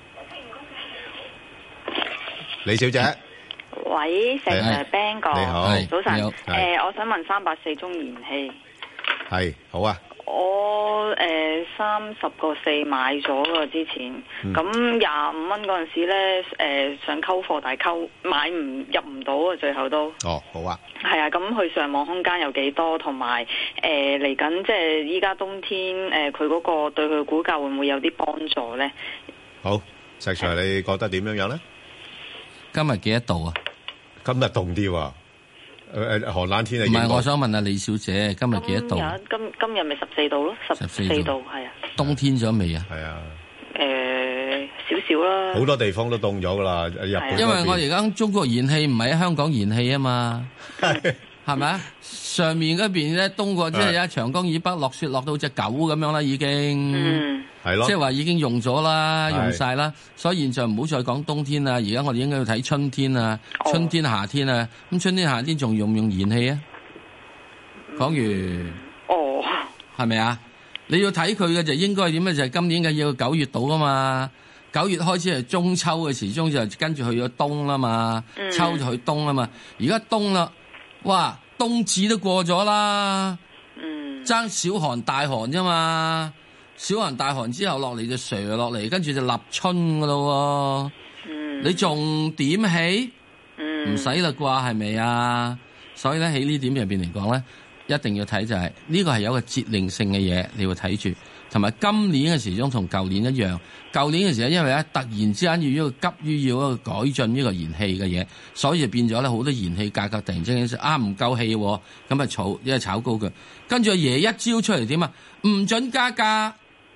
李小姐。 喂，石 Sir Ben 哥， 你好， 早晨。我想問384中燃氣。 係，好啊。 我30個4買咗㗎之前，咁25蚊嗰陣時咧，想溝貨，但係入唔到啊，最後都。 哦，好啊。 係啊，咁佢上網空間有幾多？同埋嚟緊即係依家冬天，佢嗰個對佢股價會唔會有啲幫助咧？ 好，石 Sir，你覺得點樣樣咧？ 今日幾多度啊？ 今日凍啲喎。寒冷天氣。 唔係，我想問下李小姐，今日幾多度？ 今日咪14度咯，14度係啊。 冬天咗未啊？ 係啊。 少少啦。 好多地方都凍咗噶啦，日本。 因為我而家中國燃氣唔係喺香港燃氣啊嘛，係咪啊？上面嗰邊咧冬過，即係喺長江以北落雪落到隻狗咁樣啦，已經。係咯。即係話已經用咗啦，用晒啦，所以現在唔好再講冬天啦。而家我哋應該要睇春天啊，春天、夏天啊。咁春天、夏天仲用唔用燃氣啊？講完。哦。係咪啊？你要睇佢嘅就應該係點咧？就係今年嘅要9月到啊嘛。9月開始係中秋嘅時鐘，就跟住去咗冬啦嘛。秋就去冬啦嘛。而家冬啦，哇！冬至都過咗啦。爭小寒大寒啫嘛。小寒大寒之後落嚟就蛇落嚟，跟住就立春噶咯喎。你仲點起？唔使啦啩，係咪啊？所以咧喺呢點入邊嚟講咧，一定要睇就係呢個係有個節令性嘅嘢，你要睇住。同埋今年嘅時鐘同舊年一樣，舊年嘅時候因為咧突然之間要一個急於要一個改進呢個燃氣嘅嘢，所以就變咗咧好多燃氣價格突然之間唔夠氣，咁啊因為炒高佢。跟住阿爺一招出嚟點啊？唔准加價。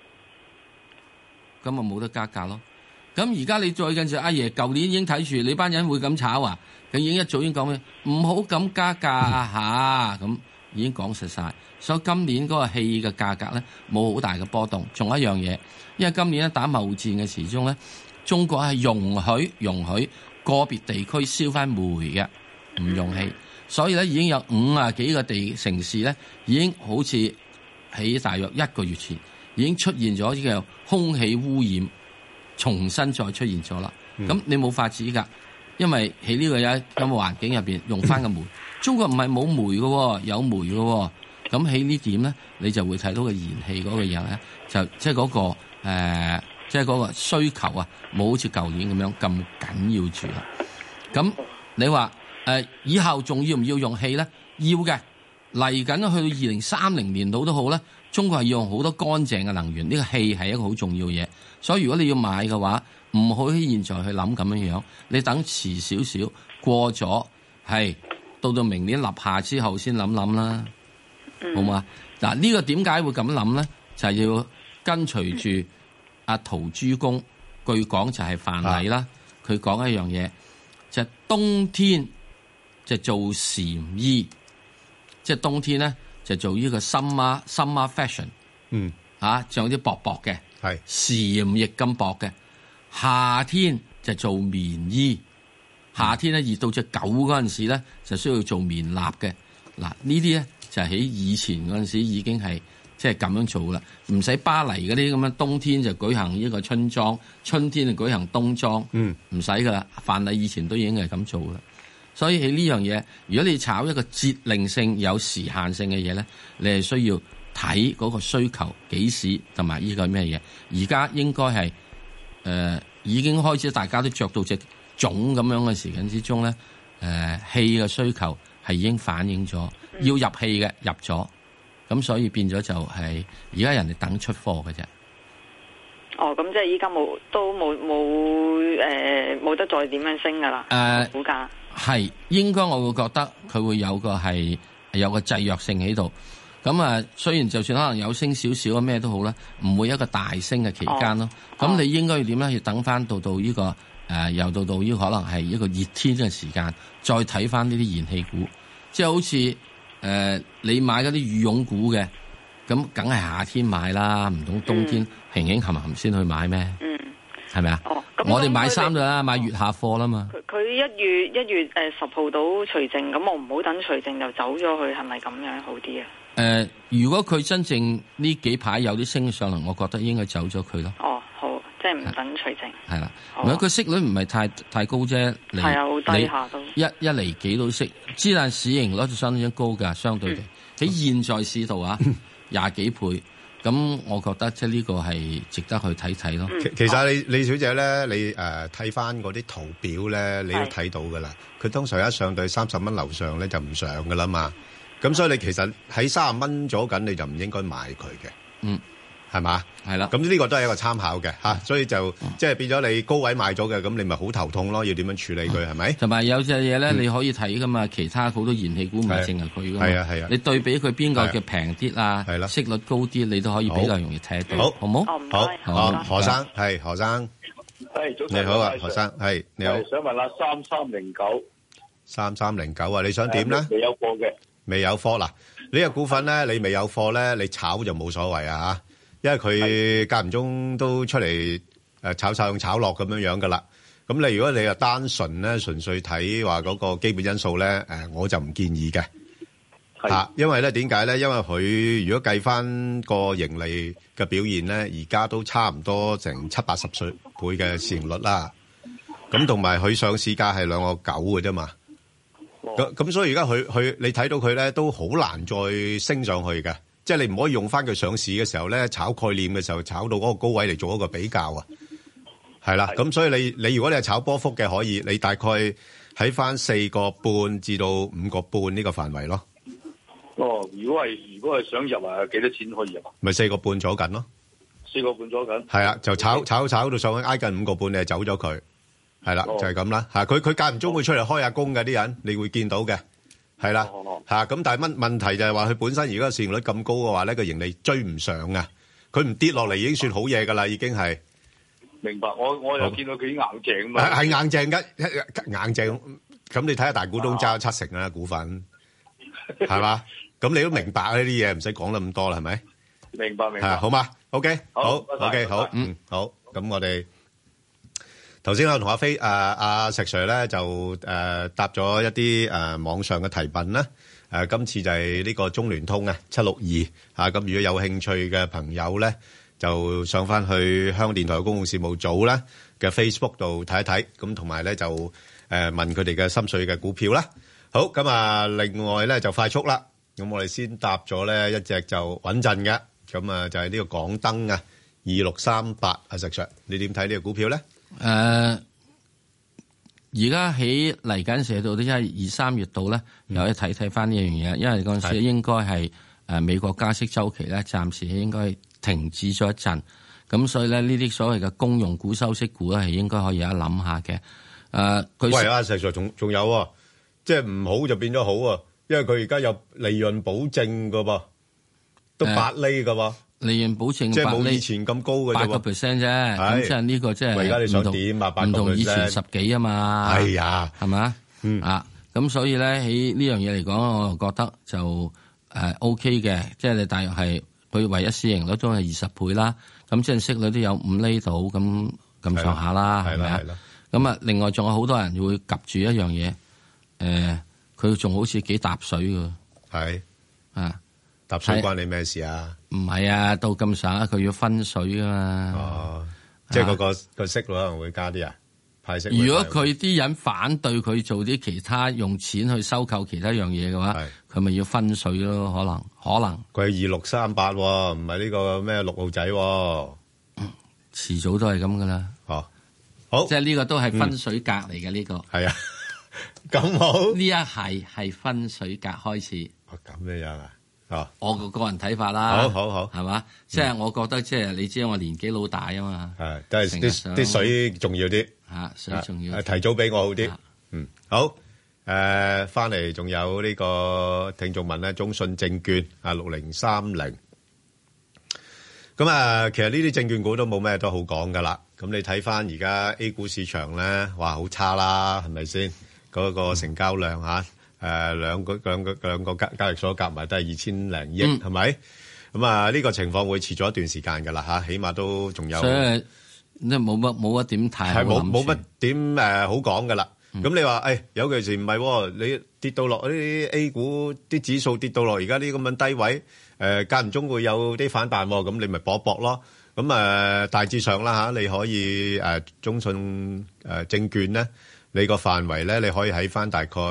咁啊冇得加價咯。咁而家你再跟住阿爺，舊年已經睇住你班人會咁炒啊，佢已經一早已經講嘅，唔好咁加價嚇，咁已經講實晒。所以今年嗰個氣嘅價格咧冇好大嘅波動。仲有一樣嘢，因為今年咧打貿戰嘅時鐘咧，中國係容許個別地區燒翻煤嘅，唔用氣。所以咧已經有50幾個城市咧，已經好似喺大約1個月前。已經出現咗呢個空氣污染，重新再出現咗啦。咁你冇法子㗎，因為喺呢個咁嘅環境入邊用翻個煤，中國唔係冇煤嘅，有煤嘅。咁喺呢點咧，你就會睇到個燃氣嗰個嘢咧，就即係嗰個即係嗰個需求啊，冇好似舊年咁樣咁緊要住啦。咁你話以後仲要唔要用氣咧？要嘅，嚟緊去到2030年度都好咧。中國係要用好多乾淨嘅能源，呢個氣係一個好重要嘢。所以如果你要買嘅話，唔好喺現在去諗咁樣樣，你等遲少少過咗，係到明年立夏之後先諗啦，好嘛？嗱，呢個點解會咁諗咧？就係要跟隨住阿陶朱公，據講就係范蠡啦。佢講一樣嘢，就係冬天就做禪衣，即係冬天咧。就做呢個 summer fashion，仲有啲薄薄嘅，蟬翼咁薄嘅。夏天就做棉衣，夏天咧熱到隻狗嗰陣時咧，就需要做棉衲嘅。嗱，呢啲咧就喺以前嗰陣時已經係即係咁樣做啦，唔使巴黎嗰啲咁樣冬天就舉行呢個春裝，春天就舉行冬裝，唔使噶啦。范蠡以前都已經係咁做啦。所以喺呢樣嘢，如果你炒一個節令性有時限性嘅嘢咧，你係需要睇嗰個需求幾時同埋呢個咩嘢。而家應該係已經開始大家都着到隻種咁樣嘅時間之中咧，氣嘅需求係已經反映咗，要入氣嘅入咗，咁所以變咗就係而家人哋等出貨嘅啫。 哦，咁即係依家冇得再點樣升噶啦？股價係應該我會覺得佢會有個制約性喺度。咁雖然就算可能有升少少啊，咩都好啦，唔會一個大升嘅期間咯。咁你應該要點咧？要等翻到呢個又到呢個可能係一個熱天嘅時間，再睇翻呢啲燃氣股，即係好似你買嗰啲羽絨股嘅，咁梗係夏天買啦，唔通冬天平平冚冚先去買咩？係咪啊？我哋買衫啦，買月下貨啦嘛。 佢1月10號到除淨，咁我唔好等除淨就走咗去，係咪咁樣好啲啊？ 如果佢真正呢幾排有啲升上嚟，我覺得應該走咗佢咯。 哦，好，即係唔等除淨。係啦，唔係佢息率唔係太高啫。 係啊，好低下都。 一厘幾都息，之但市盈率就相當高㗎，相對地喺現在市道啊，20幾倍。咁我覺得即係呢個係值得去睇睇咯。 其實李小姐咧，你睇翻嗰啲圖表咧，你都睇到㗎啦。佢通常一上到30蚊樓上咧就唔上㗎啦嘛。咁所以你其實喺30蚊左緊，你就唔應該買佢嘅。係嘛？係啦。咁呢個都係一個參考嘅嚇，所以就即係變咗你高位買咗嘅，咁你咪好頭痛咯，要點樣處理佢係咪？ 同埋有隻嘢咧，你可以睇噶嘛，其他好多燃氣股唔係淨係佢噶嘛。係啊。你對比佢邊個嘅平啲啊？係啦。息率高啲，你都可以比較容易睇到。好唔好？ 好。何生係何生。 係早晨。 你好啊，何生係你好。 想問下3309。 3309啊，你想點咧？ 未有貨嘅。 未有貨嗱，呢個股份咧，你未有貨咧，你炒就冇所謂啊嚇。因為佢間唔中都出嚟炒上炒落咁樣噶啦，咁你如果你又單純咧純粹睇話嗰個基本因素咧，我就唔建議嘅嚇，因為咧點解咧？因為佢如果計翻個盈利嘅表現咧，而家都差唔多成70-80倍嘅市盈率啦，咁同埋佢上市價係2.9嘅啫嘛，咁所以而家佢你睇到佢咧都好難再升上去嘅。即係你唔可以用翻佢上市嘅時候咧，炒概念嘅時候炒到嗰個高位嚟做一個比較啊，係啦。咁所以你如果你係炒波幅嘅，可以你大概喺翻4.5至到5.5呢個範圍咯。 哦，如果係想入啊，幾多錢可以入啊？ 咪4.5左緊咯。 4.5左緊。係啊，就炒到上去挨近5.5，你就走咗佢，係啦，就係咁啦。嚇，佢間唔中會出嚟開下工嘅啲人，你會見到嘅。係啦，咁但係問題就係話佢本身如果市盈率咁高嘅話咧，個盈利追唔上啊！佢唔跌落嚟已經算好嘢㗎啦，已經係。 明白，我又見到佢硬淨嘛。 係硬淨嘅，硬淨。咁你睇下大股東揸咗70%啦股份，係嘛？咁你都明白呢啲嘢，唔使講得咁多啦，係咪？ 明白。 好嘛 ？OK，好 ，OK， 好，好。咁我哋。頭先我同阿石 Sir 咧就答咗一啲網上嘅提問啦。今次就係呢個中聯通啊762咁如果有興趣嘅朋友咧，就上翻去香港電台公共事務組咧嘅 Facebook 度睇一睇，咁同埋咧就問佢哋嘅心水嘅股票啦。好，咁啊，另外咧就快速啦。咁我哋先答咗咧一隻就穩陣嘅，咁啊就係呢個港燈啊2638啊，石 Sir，你點睇呢個股票咧？ 而家喺嚟緊寫到啲1、2、3月度咧，又可以睇翻呢樣嘢，因為嗰陣時應該係美國加息週期咧，暫時應該停止咗一陣，咁所以咧呢啲所謂嘅公用股、收息股咧，係應該可以有一諗下嘅。 喂，阿石 Sir 仲有啊，即係唔好就變咗好啊，因為佢而家有利潤保證噶噃，都8厘噶噃。 利潤保證即係冇以前咁高嘅啫 ，8%啫。咁即係呢個即係而家你想點啊？8% 唔同以前10幾啊嘛。 係啊， 係嘛？咁所以咧喺呢樣嘢嚟講，我又覺得就OK 嘅。即係你大約係佢唯一市盈率都係20倍啦。咁即係息率都有5厘到咁上下啦，係咪啊？咁啊，另外仲有好多人會及住一樣嘢，佢仲好似幾搭水㗎。 係搭水關你咩事啊？ 唔係啊，到咁上佢要分水噶嘛。 哦，即係個息率可能會加啲啊，派息。 如果佢啲人反對佢做啲其他用錢去收購其他樣嘢嘅話，佢咪要分水咯？可能。 佢係2638，唔係呢個咩6號仔。 遲早都係咁噶啦。 哦， 好， 即係呢個都係分水格嚟嘅呢個。 係啊，咁好。 呢一係分水格開始。 咁樣啊？哦， 我個人睇法啦。 好， 係嘛？即係我覺得即係你知我年紀老大啊嘛。 係，都係啲水重要啲。 水重要。 提早俾我好啲。好。翻嚟仲有呢個聽眾問咧，中信證券6030。咁啊，其實呢啲證券股都冇咩都好講噶啦。咁你睇翻而家 A 股市場咧，哇，好差啦，係咪先？嗰個成交量兩個交易所夾埋都係2000零億，係咪？咁啊，呢個情況會持續一段時間噶啦吓，起碼都仲有。 所以即係冇乜點睇， 係冇乜點好講噶啦。咁你話有件事唔係，你跌到落啲 A 股啲指數跌到落而家啲咁樣低位，間唔中會有啲反彈，咁你咪搏一搏咯。咁大致上啦嚇，你可以中信證券咧，你個範圍咧，你可以喺翻大概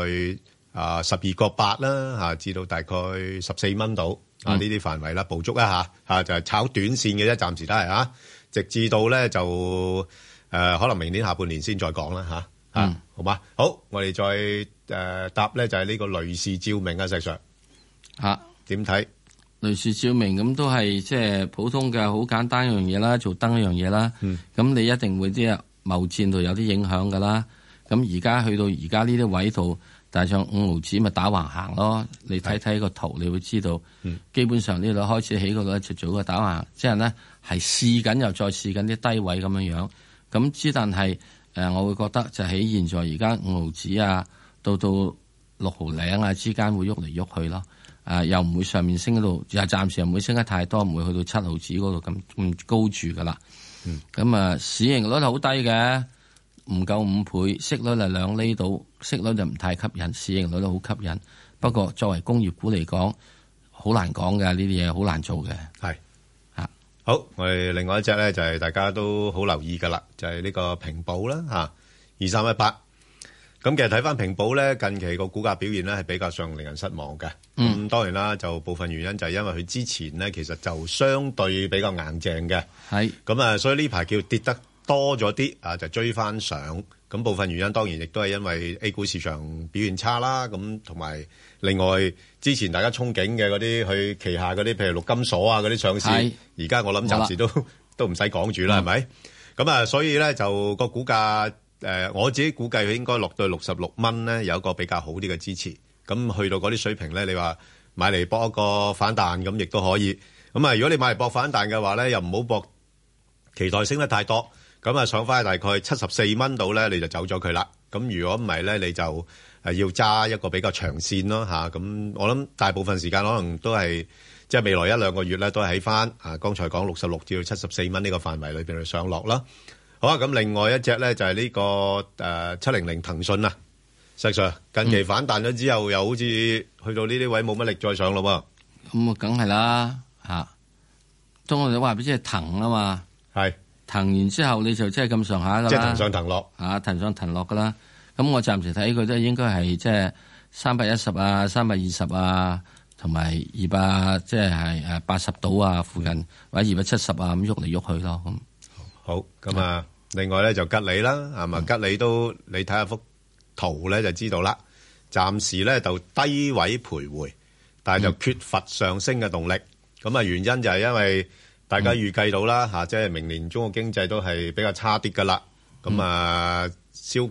12.8啦嚇，至到大概14蚊度啊，呢啲範圍啦，捕捉一下嚇，就係炒短線嘅啫，暫時都係嚇，直至到咧就可能明年下半年先再講啦嚇。好嘛，好，我哋再答咧就係呢個雷士照明啊，石 Sir 點睇？ 雷士照明咁都係即係普通嘅好簡單一樣嘢啦，做燈一樣嘢啦。咁你一定會啲貿戰度有啲影響噶啦。咁而家去到而家呢啲位度，大上5毫子咪打橫行咯。你睇睇個圖，你會知道，基本上呢度開始起嗰度就做個打橫，即係咧係試緊又再試緊啲低位咁樣樣。咁之但係。我會覺得就喺現在而家5毫子啊，到6毫零啊之間會喐嚟喐去咯。又唔會上面升嗰度，又暫時又唔會升得太多，唔會去到7毫子嗰度咁高住噶啦。咁市盈率好低嘅，唔夠5倍，息率係2厘度，息率就唔太吸引，市盈率都好吸引。不過作為工業股嚟講，好難講嘅，呢啲嘢好難做嘅。 係。好，我哋另外一隻咧就係大家都好留意噶啦，就係呢個平保啦吓，2318。咁其實睇翻平保咧，近期個股價表現咧係比較上令人失望嘅。咁當然啦，就部分原因就係因為佢之前咧其實就相對比較硬淨嘅。係。咁啊，所以呢排叫跌得多咗啲啊，就追翻上。咁部分原因當然亦都係因為 A 股市場表現差啦。咁同埋另外之前大家憧憬嘅嗰啲佢旗下嗰啲，譬如陸金所啊嗰啲上市，而家我諗暫時都唔使講住啦，係咪？咁啊，所以咧就個股價我自己估計佢應該落到66蚊咧，有一個比較好啲嘅支持。咁去到嗰啲水平咧，你話買嚟搏一個反彈咁亦都可以。咁啊，如果你買嚟搏反彈嘅話咧，又唔好搏期待升得太多。咁啊，上翻大概74蚊度咧，你就走咗佢啦。咁如果唔係咧，你就要揸一個比較長線咯嚇。咁我諗大部分時間可能都係即係未來1-2個月咧，都係喺翻剛才講66至到74蚊呢個範圍裏邊去上落啦。好啊，咁另外一隻咧就係呢個700騰訊啊，石 Sir 近期反彈咗之後，又好似去到呢啲位冇乜力再上咯喎。 咁啊，梗係啦嚇。當我哋話俾即係騰啊嘛，係。騰完之後你就即係咁上下噶啦， 即係騰上騰落騰上騰落噶啦。咁我暫時睇佢都應該係即係310啊、320啊，同埋200即係80度啊附近，或者270啊咁喐嚟喐去咯。咁好咁啊，另外咧就吉利啦，係嘛？吉利都你睇下幅圖咧就知道啦。暫時咧就低位徘徊，但係就缺乏上升嘅動力。咁啊，原因就係因為大家預計到啦嚇，即係明年中國經濟都係比較差啲噶啦。咁啊，消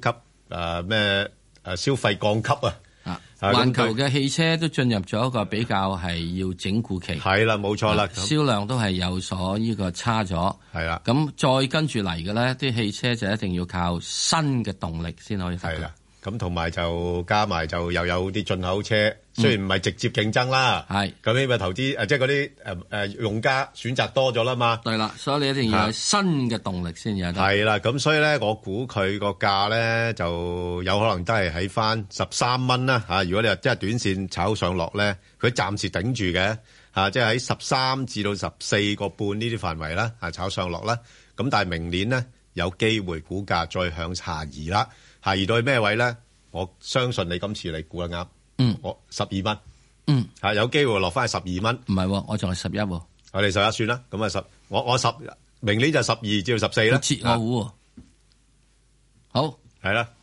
費降級啊！ 環球嘅汽車都進入咗一個比較係要整固期。 係啦，冇錯啦， 銷量都係有所呢個差咗。係啦，咁再跟住嚟嘅咧，啲汽車就一定要靠新嘅動力先可以發。係啦。 咁同埋就加埋就又有啲進口車，雖然唔係直接競爭啦，係咁因為投資即係嗰啲用家選擇多咗啦嘛。 對啦，所以你一定要有新嘅動力先有得。 係啦，咁所以咧，我估佢個價咧就有可能都係喺翻13蚊啦嚇。如果你話即係短線炒上落咧，佢暫時頂住嘅嚇，即係喺13至到14個半呢啲範圍啦嚇，炒上落啦。咁但係明年咧有機會股價再向下移啦。下移到去咩位咧？我相信你今次你估得啱。我12蚊。有機會落翻去12蚊。 唔係，我仲係11喎。 我哋11算啦。咁啊我明年就12至到14啦。 切我糊喎。 好， 係啦。